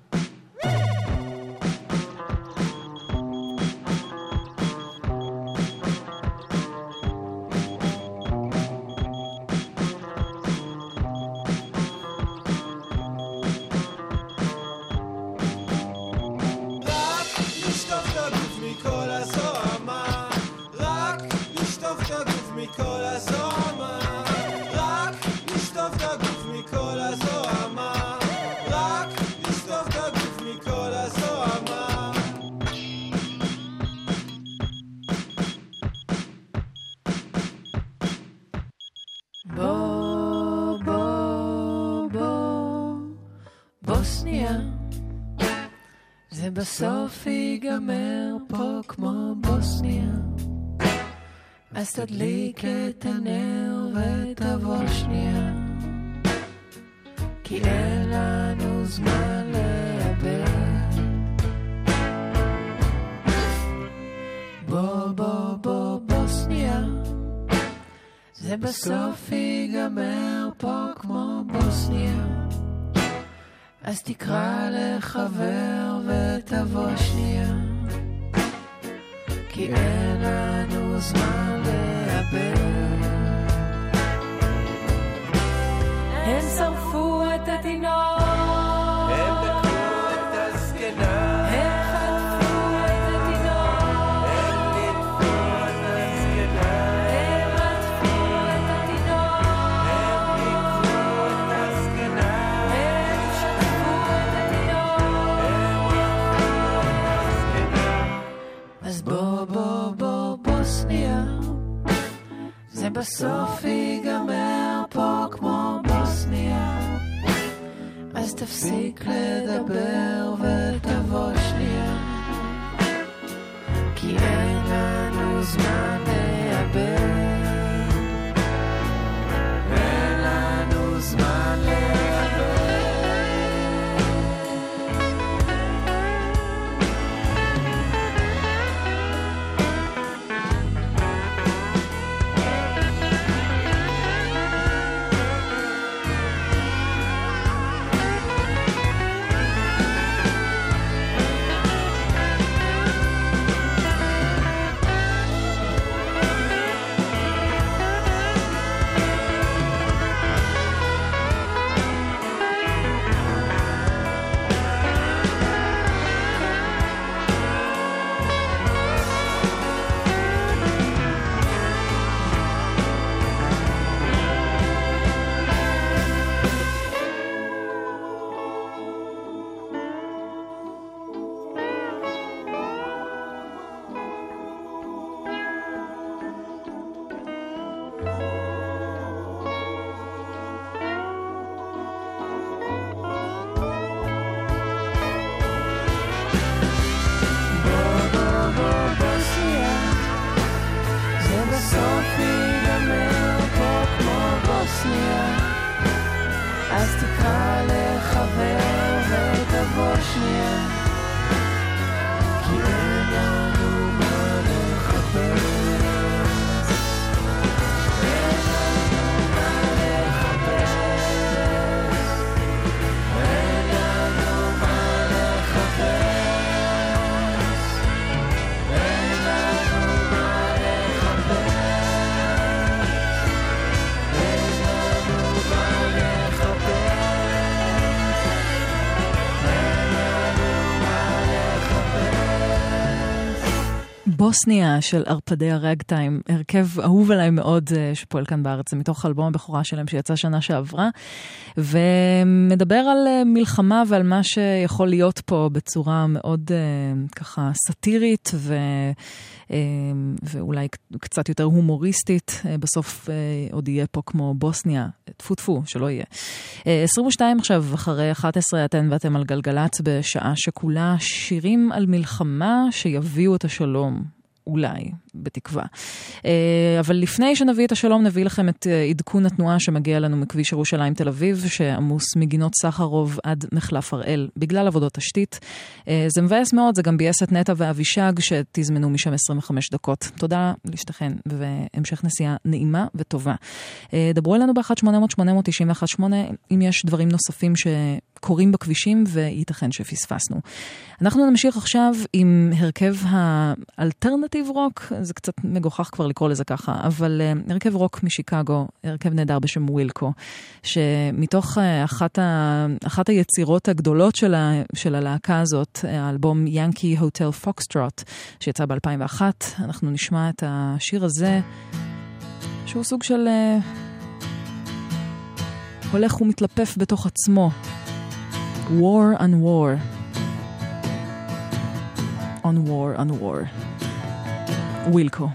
בוא, בוא, בוא, בוסניה, זה בסוף ייגמר פה כמו בוסניה. אז תדליק את הנר ותבוא שנייה, כי אין לנו זמן לאבד. בוא, בוא, בוא, בוסניה, זה בסוף ייגמר פה כמו בוסניה. אז תקרא לחבר ותבוא שנייה, כי אין לנו זמן לאבד. הם שרפו את התינוק, הם בקעו את הזקנה, הם חטפו את התינוק, הם נטפו את הזקנה, הם עטפו את התינוק, הם ניקו את הזקנה, הם שטפו את התינוק, הם עטפו את הזקנה. אז בוא בוא בוא בוסניה, זה בסוף ייגמר פה כמו בוסניה. אז תפסיק לדבר ותבוא שנייה, כי אין לנו זמן לאבד. אין לנו זמן לאבד. אז תקרא לחבר ותבוא שנייה, כי אין לנו מה לחפש. אין לנו מה לחפש. אין לנו מה לחפש. אין לנו מה לחפש. בוסניה של ארפדי הרגטיים, הרכב אהוב עליי מאוד שפועל כאן בארץ, זה מתוך אלבום הבכורה שלהם שיצא שנה שעברה, ומדבר על מלחמה ועל מה שיכול להיות פה בצורה מאוד ככה סאטירית ו... ואולי קצת יותר הומוריסטית. בסוף עוד יהיה פה כמו בוסניה, טפו טפו, שלא יהיה. עשרים ושתיים עכשיו, אחרי אחת עשרה, אתן ואתם על גלגלץ בשעה שכולה שירים על מלחמה שיביאו את השלום. אולי, בתקווה. אבל לפני שנביא את השלום, נביא לכם את עדכון התנועה שמגיע לנו מכביש ירושלים תל אביב, שעמוס מגינות סחרוב עד מחלף הראל, בגלל עבודות תשתית. זה מבאס מאוד, זה גם בייס את נטע ואבישג, שתזמנו משם עשרים וחמש דקות. תודה לשתכן, והמשך נסיעה נעימה וטובה. דברו אלינו ב-אחת שמונה אפס אפס שמונה תשע אחת שמונה, אם יש דברים נוספים שקורים בכבישים, וייתכן שפספסנו. אנחנו נמשיך עכשיו עם הרכב האלטרנטיב רוק, זה קצת מגוחך כבר לקרוא לזה ככה, אבל uh, הרכב רוק משיקגו, הרכב נהדר בשם ווילקו, שמתוך uh, אחת, ה, אחת היצירות הגדולות של, ה, של הלהקה הזאת, האלבום ינקי הוטל פוקסטרוט, שיצא ב-אלפיים ואחת, אנחנו נשמע את השיר הזה, שהוא סוג של uh, הולך ומתלפף בתוך עצמו. War on War. On War on War. ווילקו.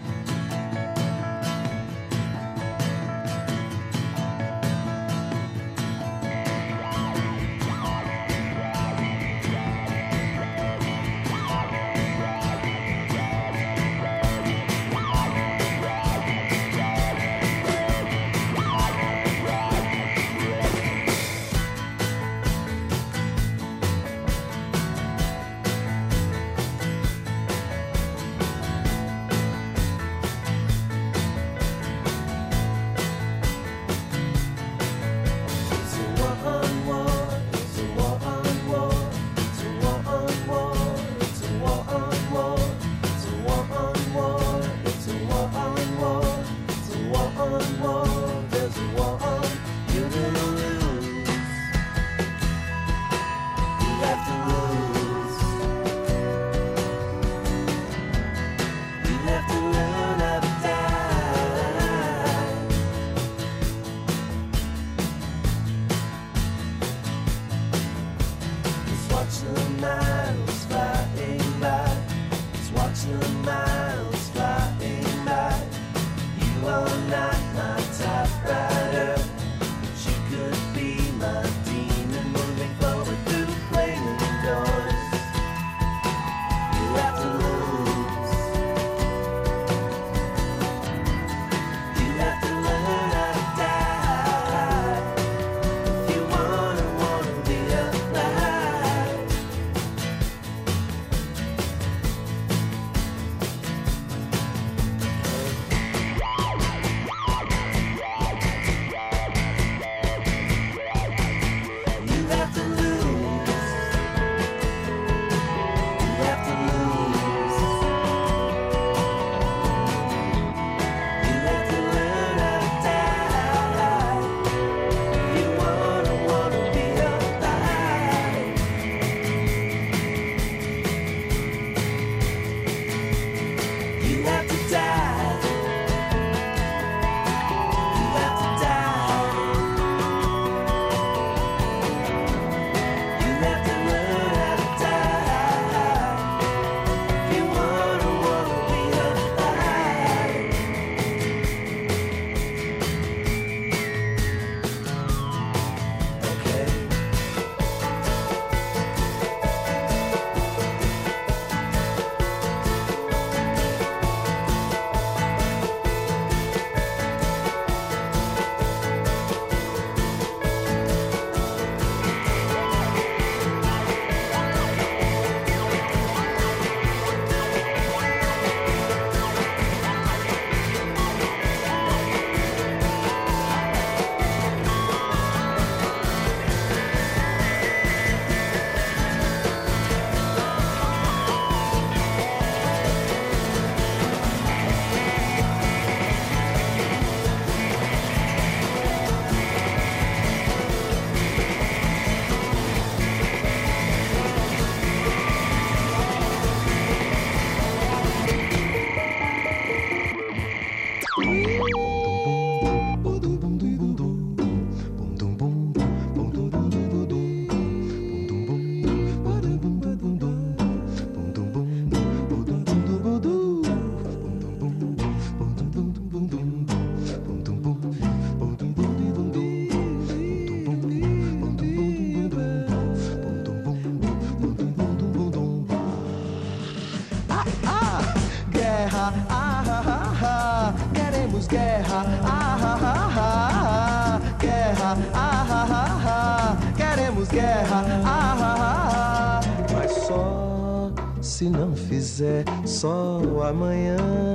queremos guerra, ah, ah, ah, ah, guerra, ah, ah, ah, ah, queremos guerra, ah, ah, ah, mas só se não fizer sol amanhã.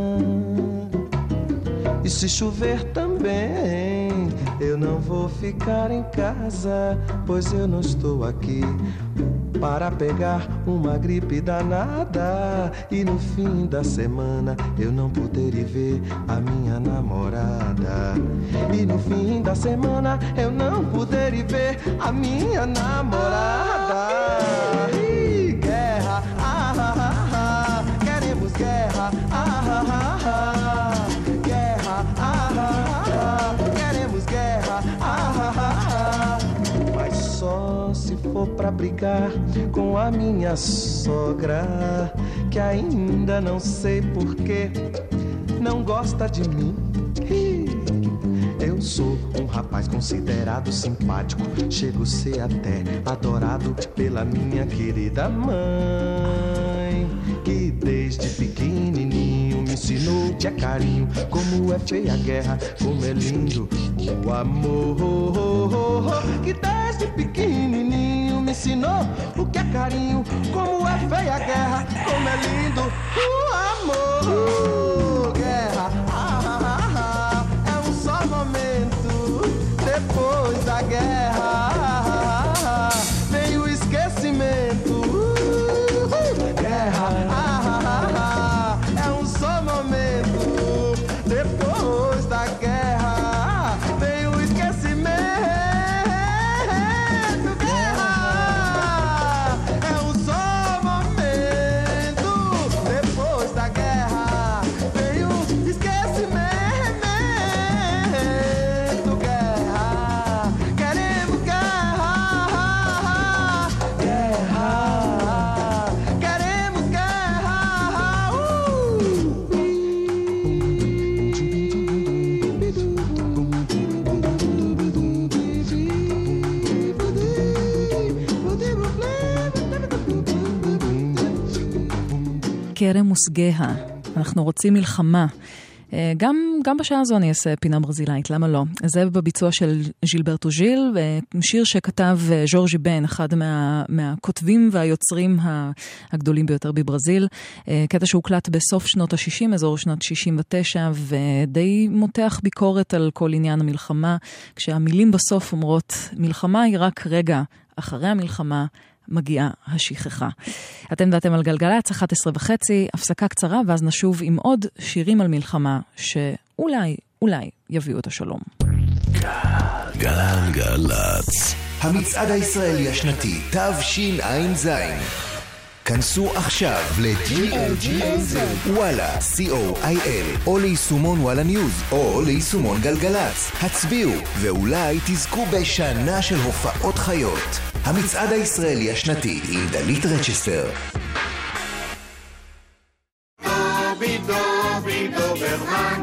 E se chover também, eu não vou ficar em casa, pois eu não estou aqui para pegar uma gripe danada e no fim da semana eu não poder ir ver a minha namorada. E no fim da semana eu não poder ir ver a minha namorada. Ih, guerra, ah, ah, ah, ah, queremos guerra, ah, ah, ah, ah, guerra, ah, ah, ah, queremos guerra, ah, ah, ah, mas só se for pra brigar com a minha sogra, que ainda não sei porquê não gosta de mim. Eu sou um rapaz considerado simpático, chego a ser até adorado pela minha querida mãe, que desde pequenininho me ensinou que é carinho, como é feia a guerra, como é lindo o amor, que desde pequenininho me ensinou o que é carinho, como é feia a guerra, como é lindo o amor. Guerra, ah, ah, ah, ah, é um só momento, depois da guerra ah, ah, ah, vem o esquecimento. uh, Guerra, ah, ah, ah, ah, é um só momento, depois da guerra vem o esquecimento. Guerra, é um só momento, depois da guerra vem o esquecimento. Guerra, queremos guerra, guerra, queremos guerra. uh! קרמוס גאה, אנחנו רוצים מלחמה. גם, גם בשעה הזו אני אעשה פינה ברזילאית, למה לא? זה בביצוע של ז'ילברטו ז'יל, שיר שכתב ז'ורג'י בן, אחד מה, מהכותבים והיוצרים הגדולים ביותר בברזיל, קטע שהוקלט בסוף שנות ה-שישים, אזור שנת שישים ותשע, ודי מותח ביקורת על כל עניין המלחמה, כשהמילים בסוף אומרות, מלחמה היא רק רגע, אחרי המלחמה, מגיעה השכחה. אתם ואתם על גלגלץ, אחת עשרה וחצי, הפסקה קצרה, ואז נשוב עם עוד שירים על מלחמה, שאולי, אולי יביאו את השלום. גלגלץ. המצעד הישראלי השנתי, תשע"ז. כנסו עכשיו ל-ג'י אל ג'י וואלה, סי או איי אל, או ליישומון וואלה ניוז, או ליישומון גלגלץ. הצביעו, ואולי תזכו בשנה של הופעות חיות. המצעד הישראלי השנתי עם דלית רצ'סטר. דובי דובי דוברמן,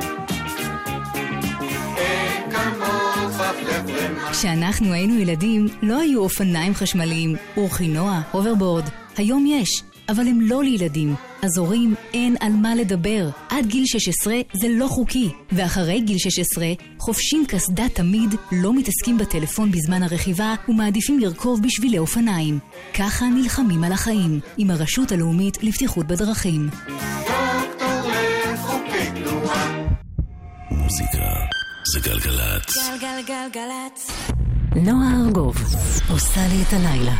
אין כמוך פלפלמן. כשאנחנו היינו ילדים, לא היו אופניים חשמליים, אורחינוע, הוברבורד. היום יש, אבל הם לא לילדים. אז הורים, אין על מה לדבר. עד גיל שש עשרה זה לא חוקי. ואחרי גיל שש עשרה, חופשים קסדה תמיד, לא מתעסקים בטלפון בזמן הרכיבה, ומעדיפים לרכוב בשבילי אופניים. ככה נלחמים על החיים, עם הרשות הלאומית לבטיחות בדרכים. דוקטור לחוקי תנועה. מוזיקה זה גלגלצ. גלגלגלגלצ. נועה ארגוב עושה לי את הלילה.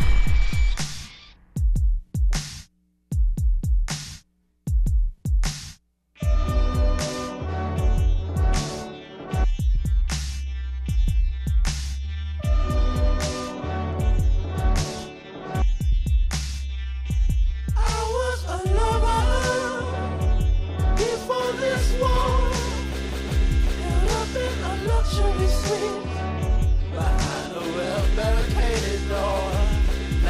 Behind a well-barricaded door,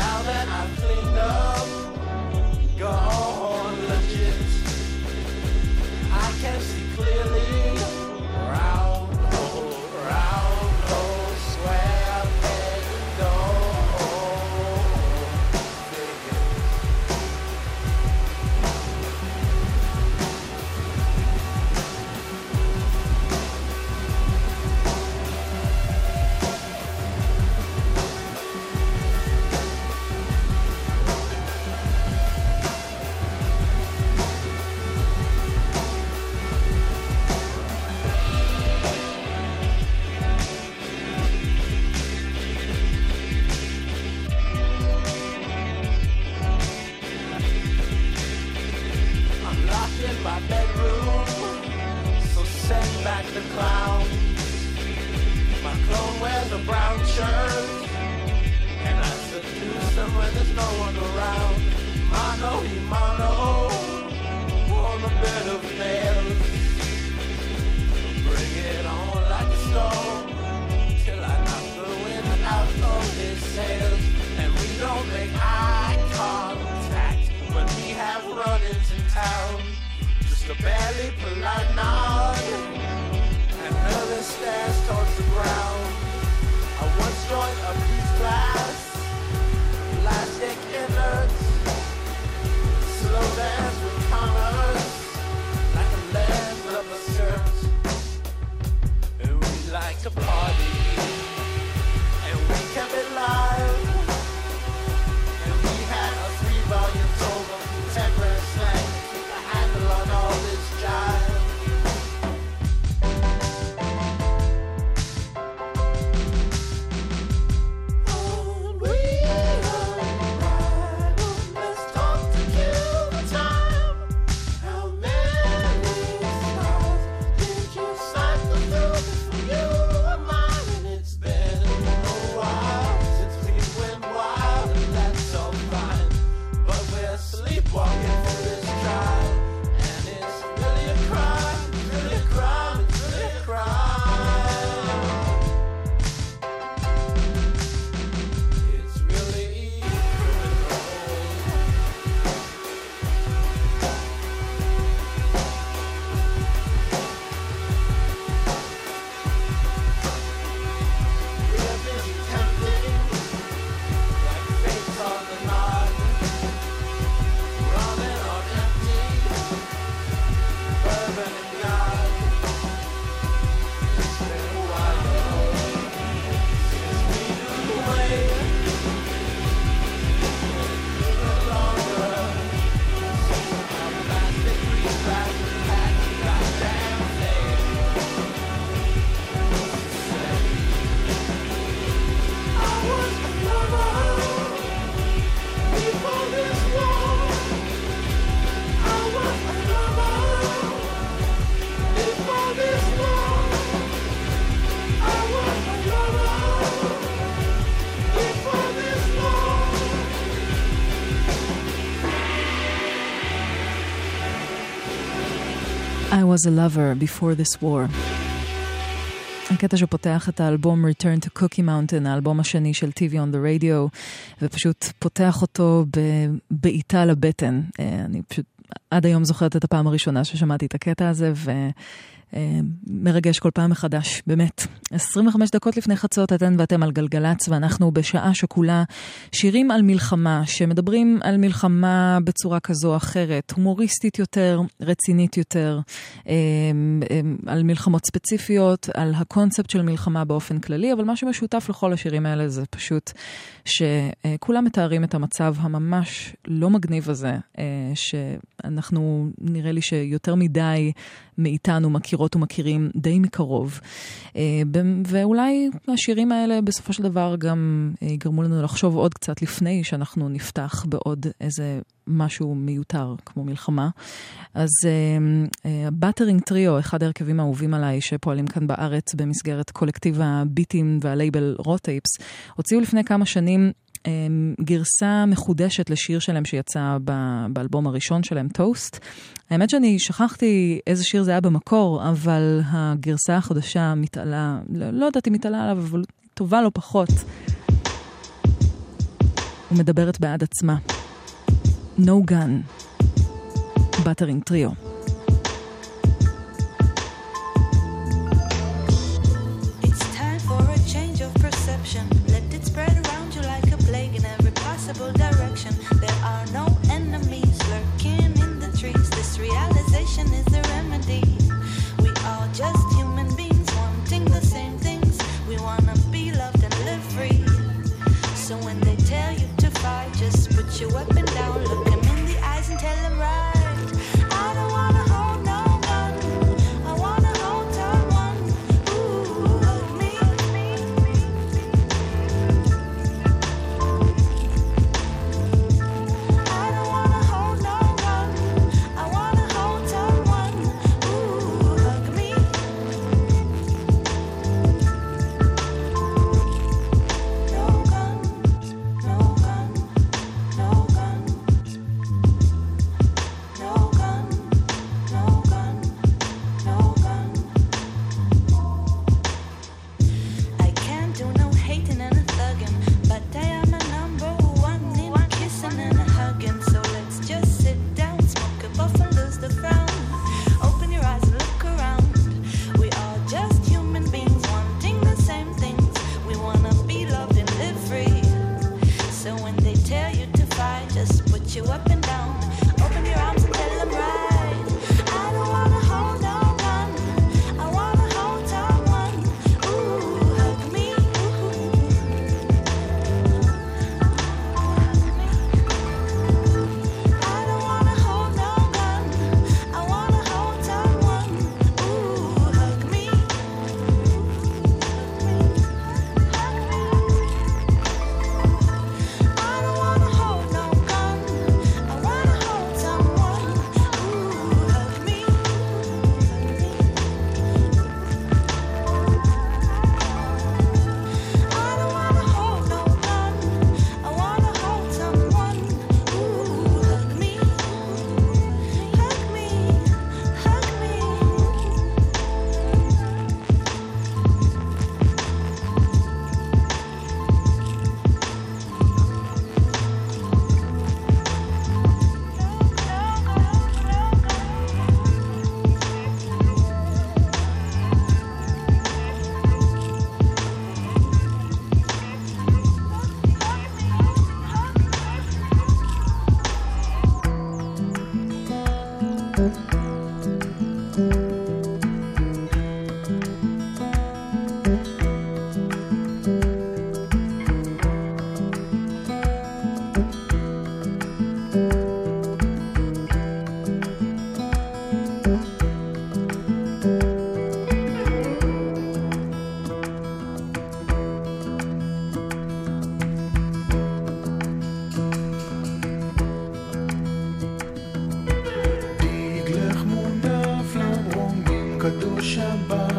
a brown shirt, and I seduce them when there's no one around. Mano y mano on the bed of nails. Bring it on like a storm till I knock the wind out of his sails, and we don't make eye contact when we have run-ins in town. Just a barely polite nod and nervous stares towards the ground. I once joined a peace class, plastic innards, slow dance with commas, like a leather skirt. And we like to party, and we kept it live. And we had a three-volume tome of contemporary slang to keep a handle on all this jive. I was a lover before this war. הקטע שפותח את האלבום Return to Cookie Mountain, האלבום השני של טי וי on the Radio, ופשוט פותח אותו בעיטה לבטן. אני פשוט עד היום זוכרת את הפעם הראשונה ששמעתי את הקטע הזה, ו... מרגש כל פעם מחדש, באמת. עשרים וחמש דקות לפני חצות אתן ואתם על גלגלץ, ואנחנו בשעה שכולה שירים על מלחמה, שמדברים על מלחמה בצורה כזו או אחרת, הומוריסטית יותר, רצינית יותר, על מלחמות ספציפיות, על הקונספט של מלחמה באופן כללי, אבל מה שמשותף לכל השירים האלה זה פשוט שכולם מתארים את המצב הממש לא מגניב הזה, שאנחנו נראה לי שיותר מדי מאיתנו מכירות ומכירים די מקרוב. ואולי השירים האלה בסופו של דבר גם יגרמו לנו לחשוב עוד קצת לפני שאנחנו נפתח בעוד איזה משהו מיותר כמו מלחמה. אז באטרינג טריו, אחד ההרכבים האהובים עליי שפועלים כאן בארץ במסגרת קולקטיב הביטים והלייבל רוטייפס, הוציאו לפני כמה שנים גרסה מחודשת לשיר שלהם שיצא באלבום הראשון שלהם, טוסט. האמת שאני שכחתי איזה שיר זה היה במקור, אבל הגרסה החדשה מתעלה, לא, לא יודעת אם מתעלה עליו, אבל טובה לא פחות. ומדברת בעד עצמה. No Gun, באטרינג טריו. It's time for a change of perception. Let it spread around you like a plague in every possible direction. There are no enemies lurking in the trees. This realization is the remedy. We are just human beings wanting the same things. We wanna be loved and live free. So when they tell you to fight, just put your weapon down, look them in the eyes and tell them right. I don't wanna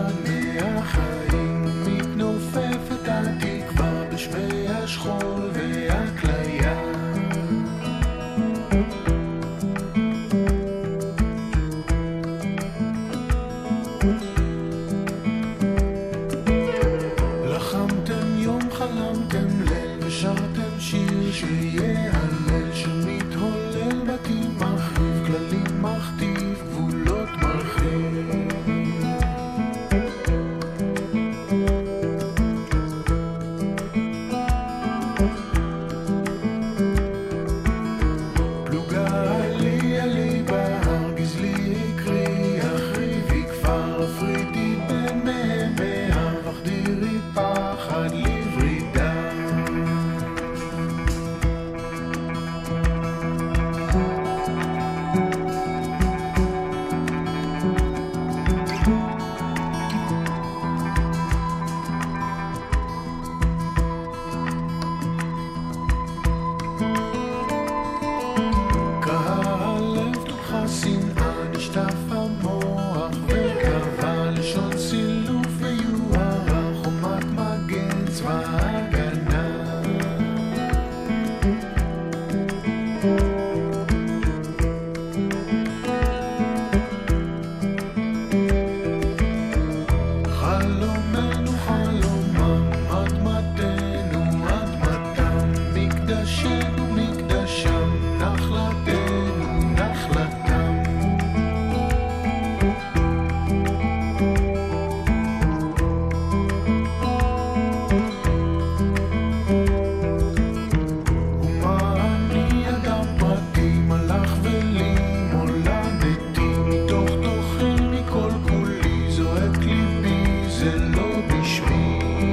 לבד מהחיים, מתנופפת התקווה בשמי השכול והכליה. לחמתם יום, חלמתם ליל, ושרתם שיר שיהיה הלל, שמתהולל בתים מחריב, כללים מכתיב, גבולות מרחיב. פלוגה עלי עלי בהר, גזלי יקרי, אחריבי כפר, אפרידי בין מהם בהר, וחדירי פחד לברידה. קהה הלב תוכה שנאה, נשטף המוח וקבע לשון סילוף ויוהרה, חומת מגן צבא הגנה. חלומנו חלומם, אדמתנו אדמתם, מקדשנו מקדשם, נחלתנו נחלתם. ומה אני אדם פרטי, מלאך ולי מולדתי, מתוך תוכי מכל כולי, זועק ליבי, זה לא בשמי.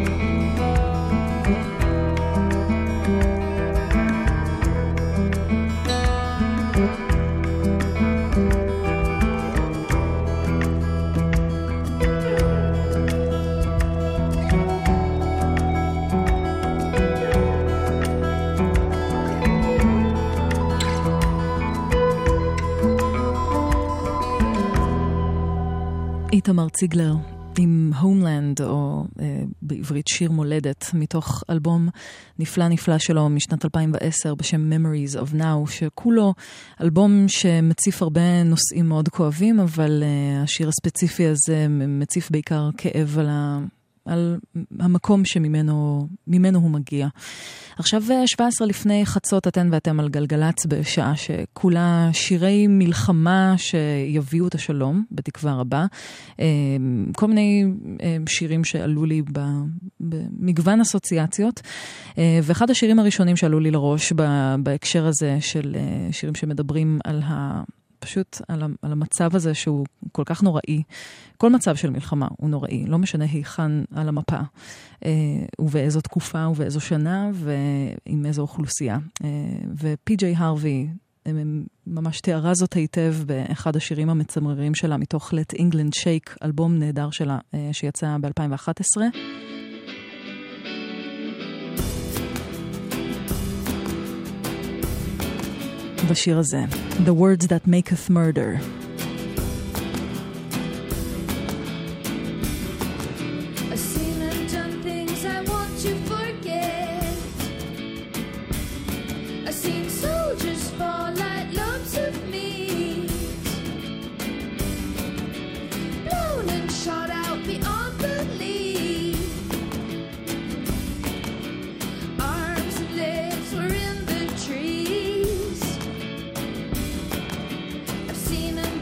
איתמר ציגלר עם הומלנד, או אה, בעברית שיר מולדת, מתוך אלבום נפלא נפלא שלו משנת אלפיים ועשר בשם Memories of Now, שכולו אלבום שמציף הרבה נושאים מאוד כואבים, אבל אה, השיר הספציפי הזה מציף בעיקר כאב על ה... על המקום שממנו ממנו הוא מגיע. עכשיו שבע עשרה לפני חצות, אתן ואתם על גלגלץ, בשעה שכולה שירי מלחמה שיביאו את השלום, בתקווה רבה. כל מיני שירים שעלו לי במגוון אסוציאציות, ואחד השירים הראשונים שעלו לי לראש בהקשר הזה של שירים שמדברים על ה... פשוט על, על המצב הזה שהוא כל כך נוראי. כל מצב של מלחמה הוא נוראי, לא משנה היכן על המפה, אה, ובאיזו תקופה ובאיזו שנה ועם איזו אוכלוסייה. אה, ופי ג'יי הרווי אה, ממש תיארה זאת היטב באחד השירים המצמררים שלה, מתוך Let England Shake, אלבום נהדר שלה אה, שיצא ב-אלפיים ואחת עשרה. בשיר הזה, The Words That Maketh Murder. I've seen and done things I want to forget. I've seen soldiers fall like lumps of meat, blown and shot out beyond belief. Arms and legs were in the trees. I've seen and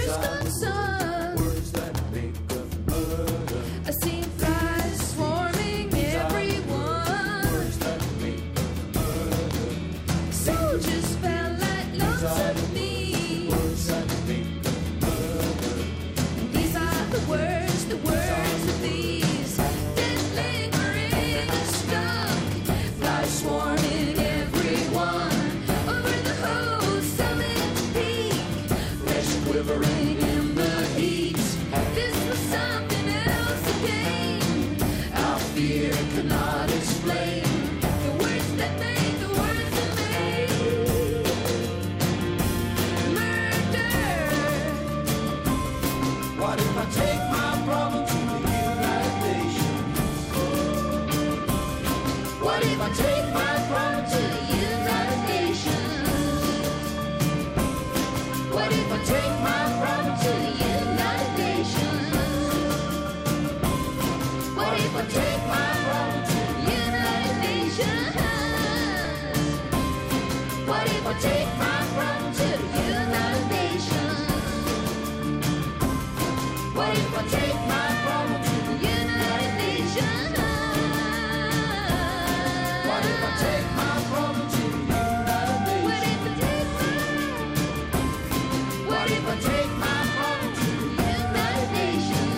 distant sun. Words that make of murder. I see flies swarming everyone. Words that make of murder. Soldiers fell like lumps of meat. Words that make of murder. These are the words, the words of these that lingering stuck. Flies swarming everyone over the whole summit peak. Flesh quivering in the heat. This was something else again. Our fear could not explain the words that made the words that made murder. What if I take my problem to the United Nations? What if I take my problem to the United Nations? What if I take my problem to the United Nations? What if I take my problem to the United Nations? What if I take my problem to the United Nations? What if I take my problem to the United Nations? What if I take my problem to the United Nations? What if I take my problem to the United Nations?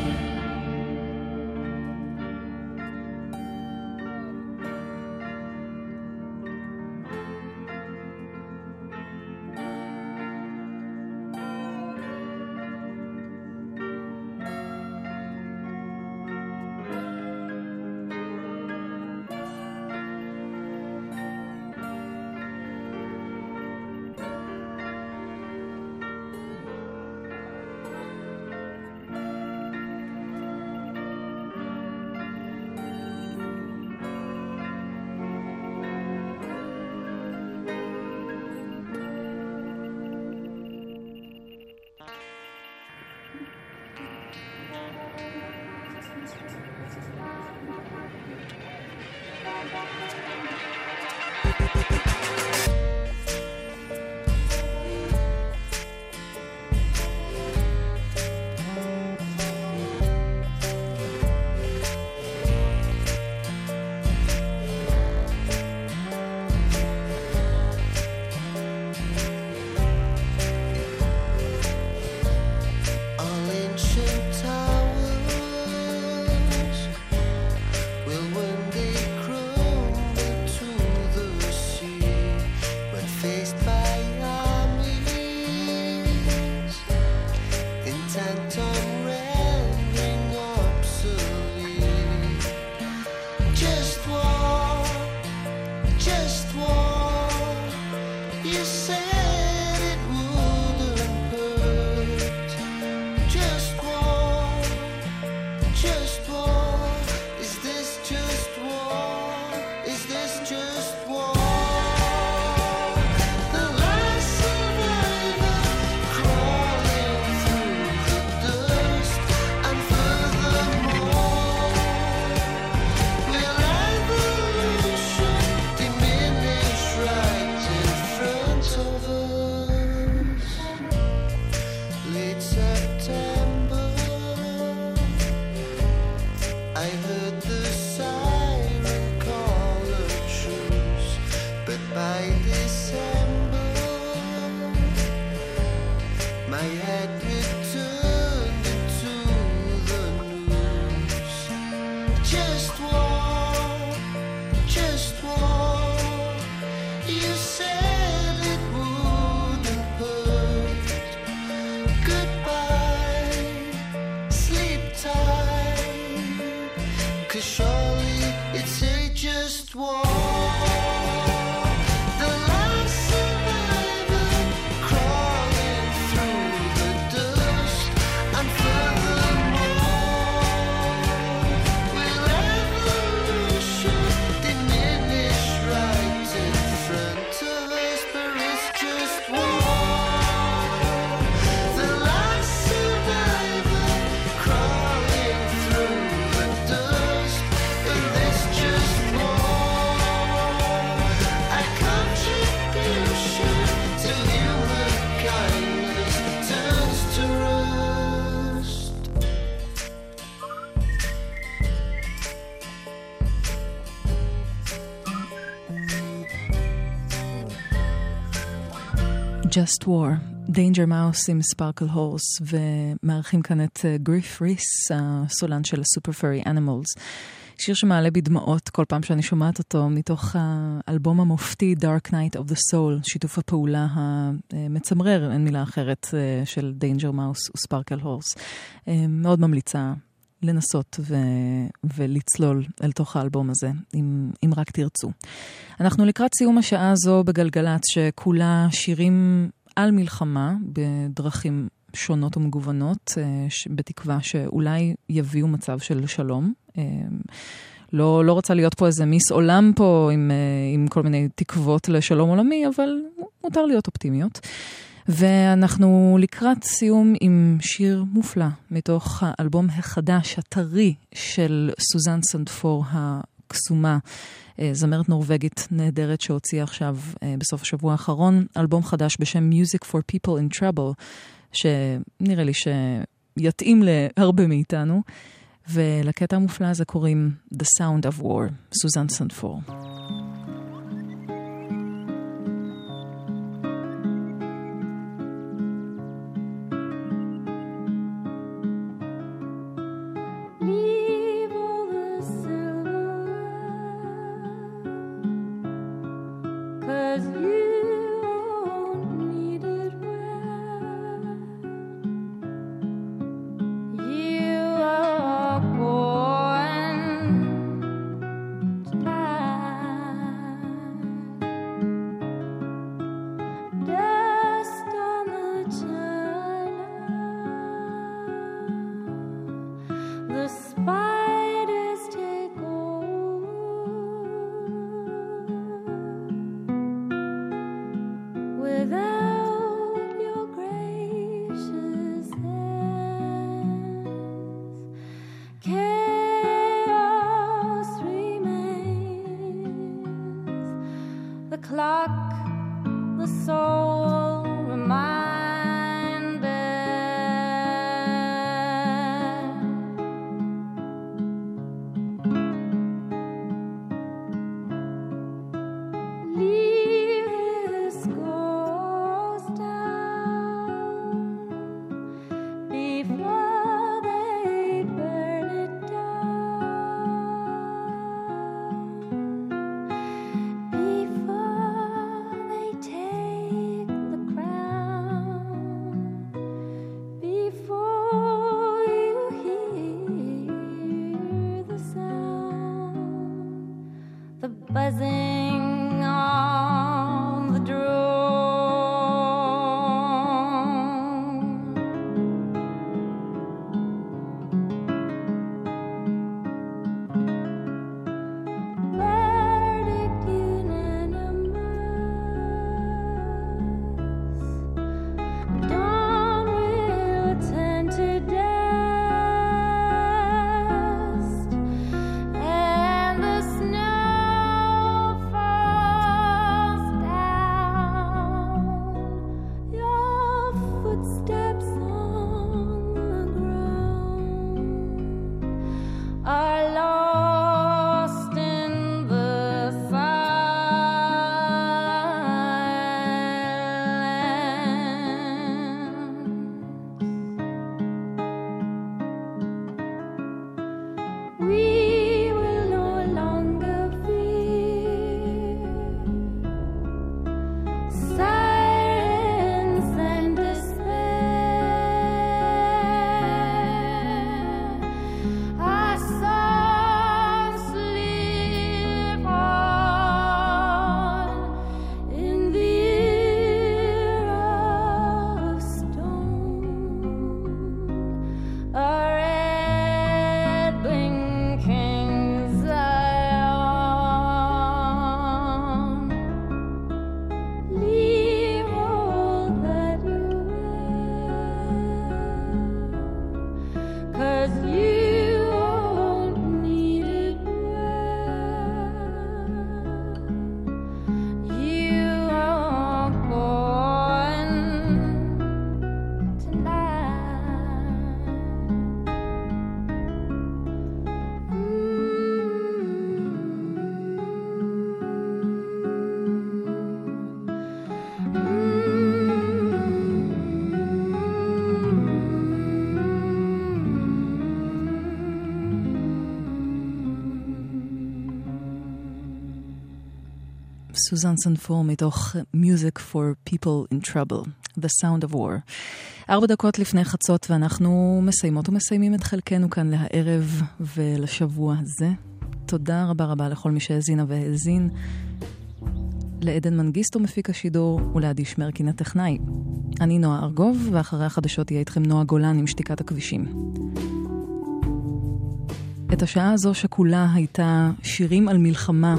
All ancient towers will one day crumble to the sea when faced by armies intent on rendering obsolete. Just war, just war. You said it wouldn't hurt. Just war, just war. Is this just war? Is this just war? The last survivor crawling through the dust, and furthermore, will evolution diminish right in front of us? Late September, I heard the siren call a truce, but by December, my head returned into the news. Just war, just war. You said it wouldn't hurt. Goodbye, sleep tight, 'cause surely it's a just war. The last survivor crawling through the dust. Just War, Danger Mouse עם ספרקל הורס, ומארחים כאן את גריף ריס, הסולן של הסופר פרי אנימלס. שיר שמעלה בדמעות כל פעם שאני שומעת אותו, מתוך האלבום המופתי Dark Night of the Soul, שיתוף הפעולה המצמרר, אין מילה אחרת, של Danger Mouse וספרקל הורס. מאוד ממליצה לנסות ו... ולצלול אל תוך האלבום הזה, אם, אם רק תרצו. אנחנו לקראת סיום השעה הזו בגלגלץ, שכולה שירים על מלחמה, בדרכים שונות ומגוונות, בתקווה שאולי יביאו מצב של שלום. לא, לא רוצה להיות פה איזה מיס עולם פה, עם, עם כל מיני תקוות לשלום עולמי, אבל מותר להיות אופטימיות. ואנחנו לקראת סיום עם שיר מופלא מתוך האלבום החדש, הטרי של סוזן סנדפור הקסומה, זמרת נורווגית נהדרת שהוציאה עכשיו בסוף השבוע האחרון, אלבום חדש בשם Music for People in Trouble, שנראה לי שיתאים להרבה מאיתנו, ולקטע המופלא הזה קוראים The Sound of War, סוזן סנדפור. Tonight סוזן סנפור מתוך Music for People in Trouble, The Sound of War. ארבע דקות לפני חצות ואנחנו מסיימות ומסיימים את חלקנו כאן להערב ולשבוע הזה. תודה רבה רבה לכל מי שהזינה והזין. לעדן מנגיסטו מפיק השידור ולעדי שמרקין הטכנאי. אני נועה ארגוב ואחרי החדשות יהיה איתכם נועה גולן עם שתיקת הכבישים. את השעה הזו שכולה הייתה שירים על מלחמה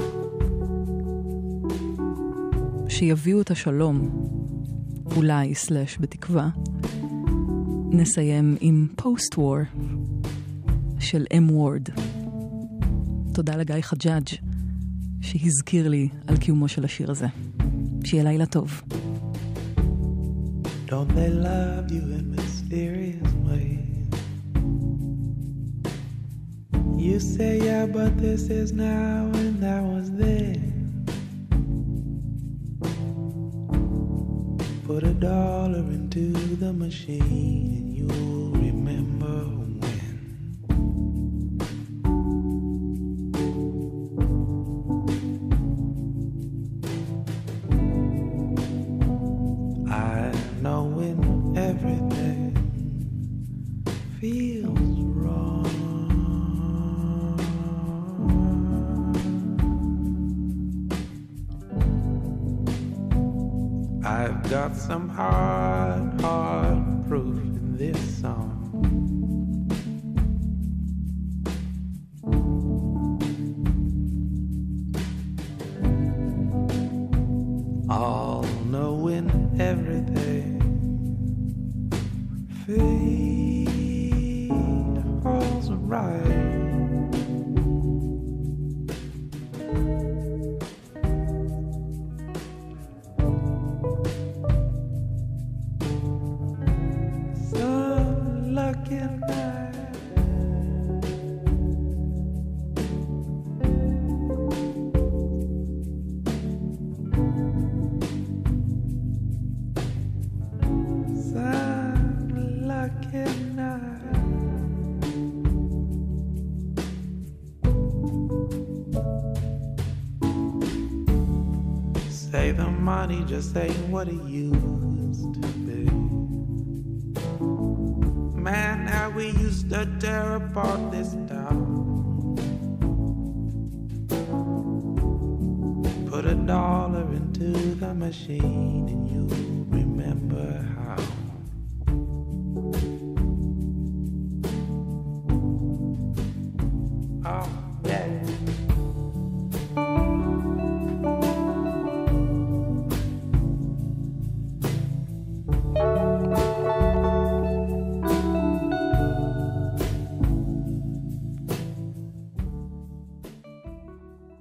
שיביאו את השלום, אולי סלש בתקווה. נסיים עם פוסט-וור של אם וורד. תודה לגיא חג'אג' שהזכיר לי על קיומו של השיר הזה. שיהיה לילה טוב. Don't they love you in mysterious ways? You say yeah, but this is now and that was then. Put a dollar into the machine and you'll remember when. I know when everything feels wrong. I've got some hard, hard proof in this song. All knowing everything feels right. Say the money just ain't what it used to be. Man, how we used to tear apart this town. Put a dollar into the machine and you'll remember how.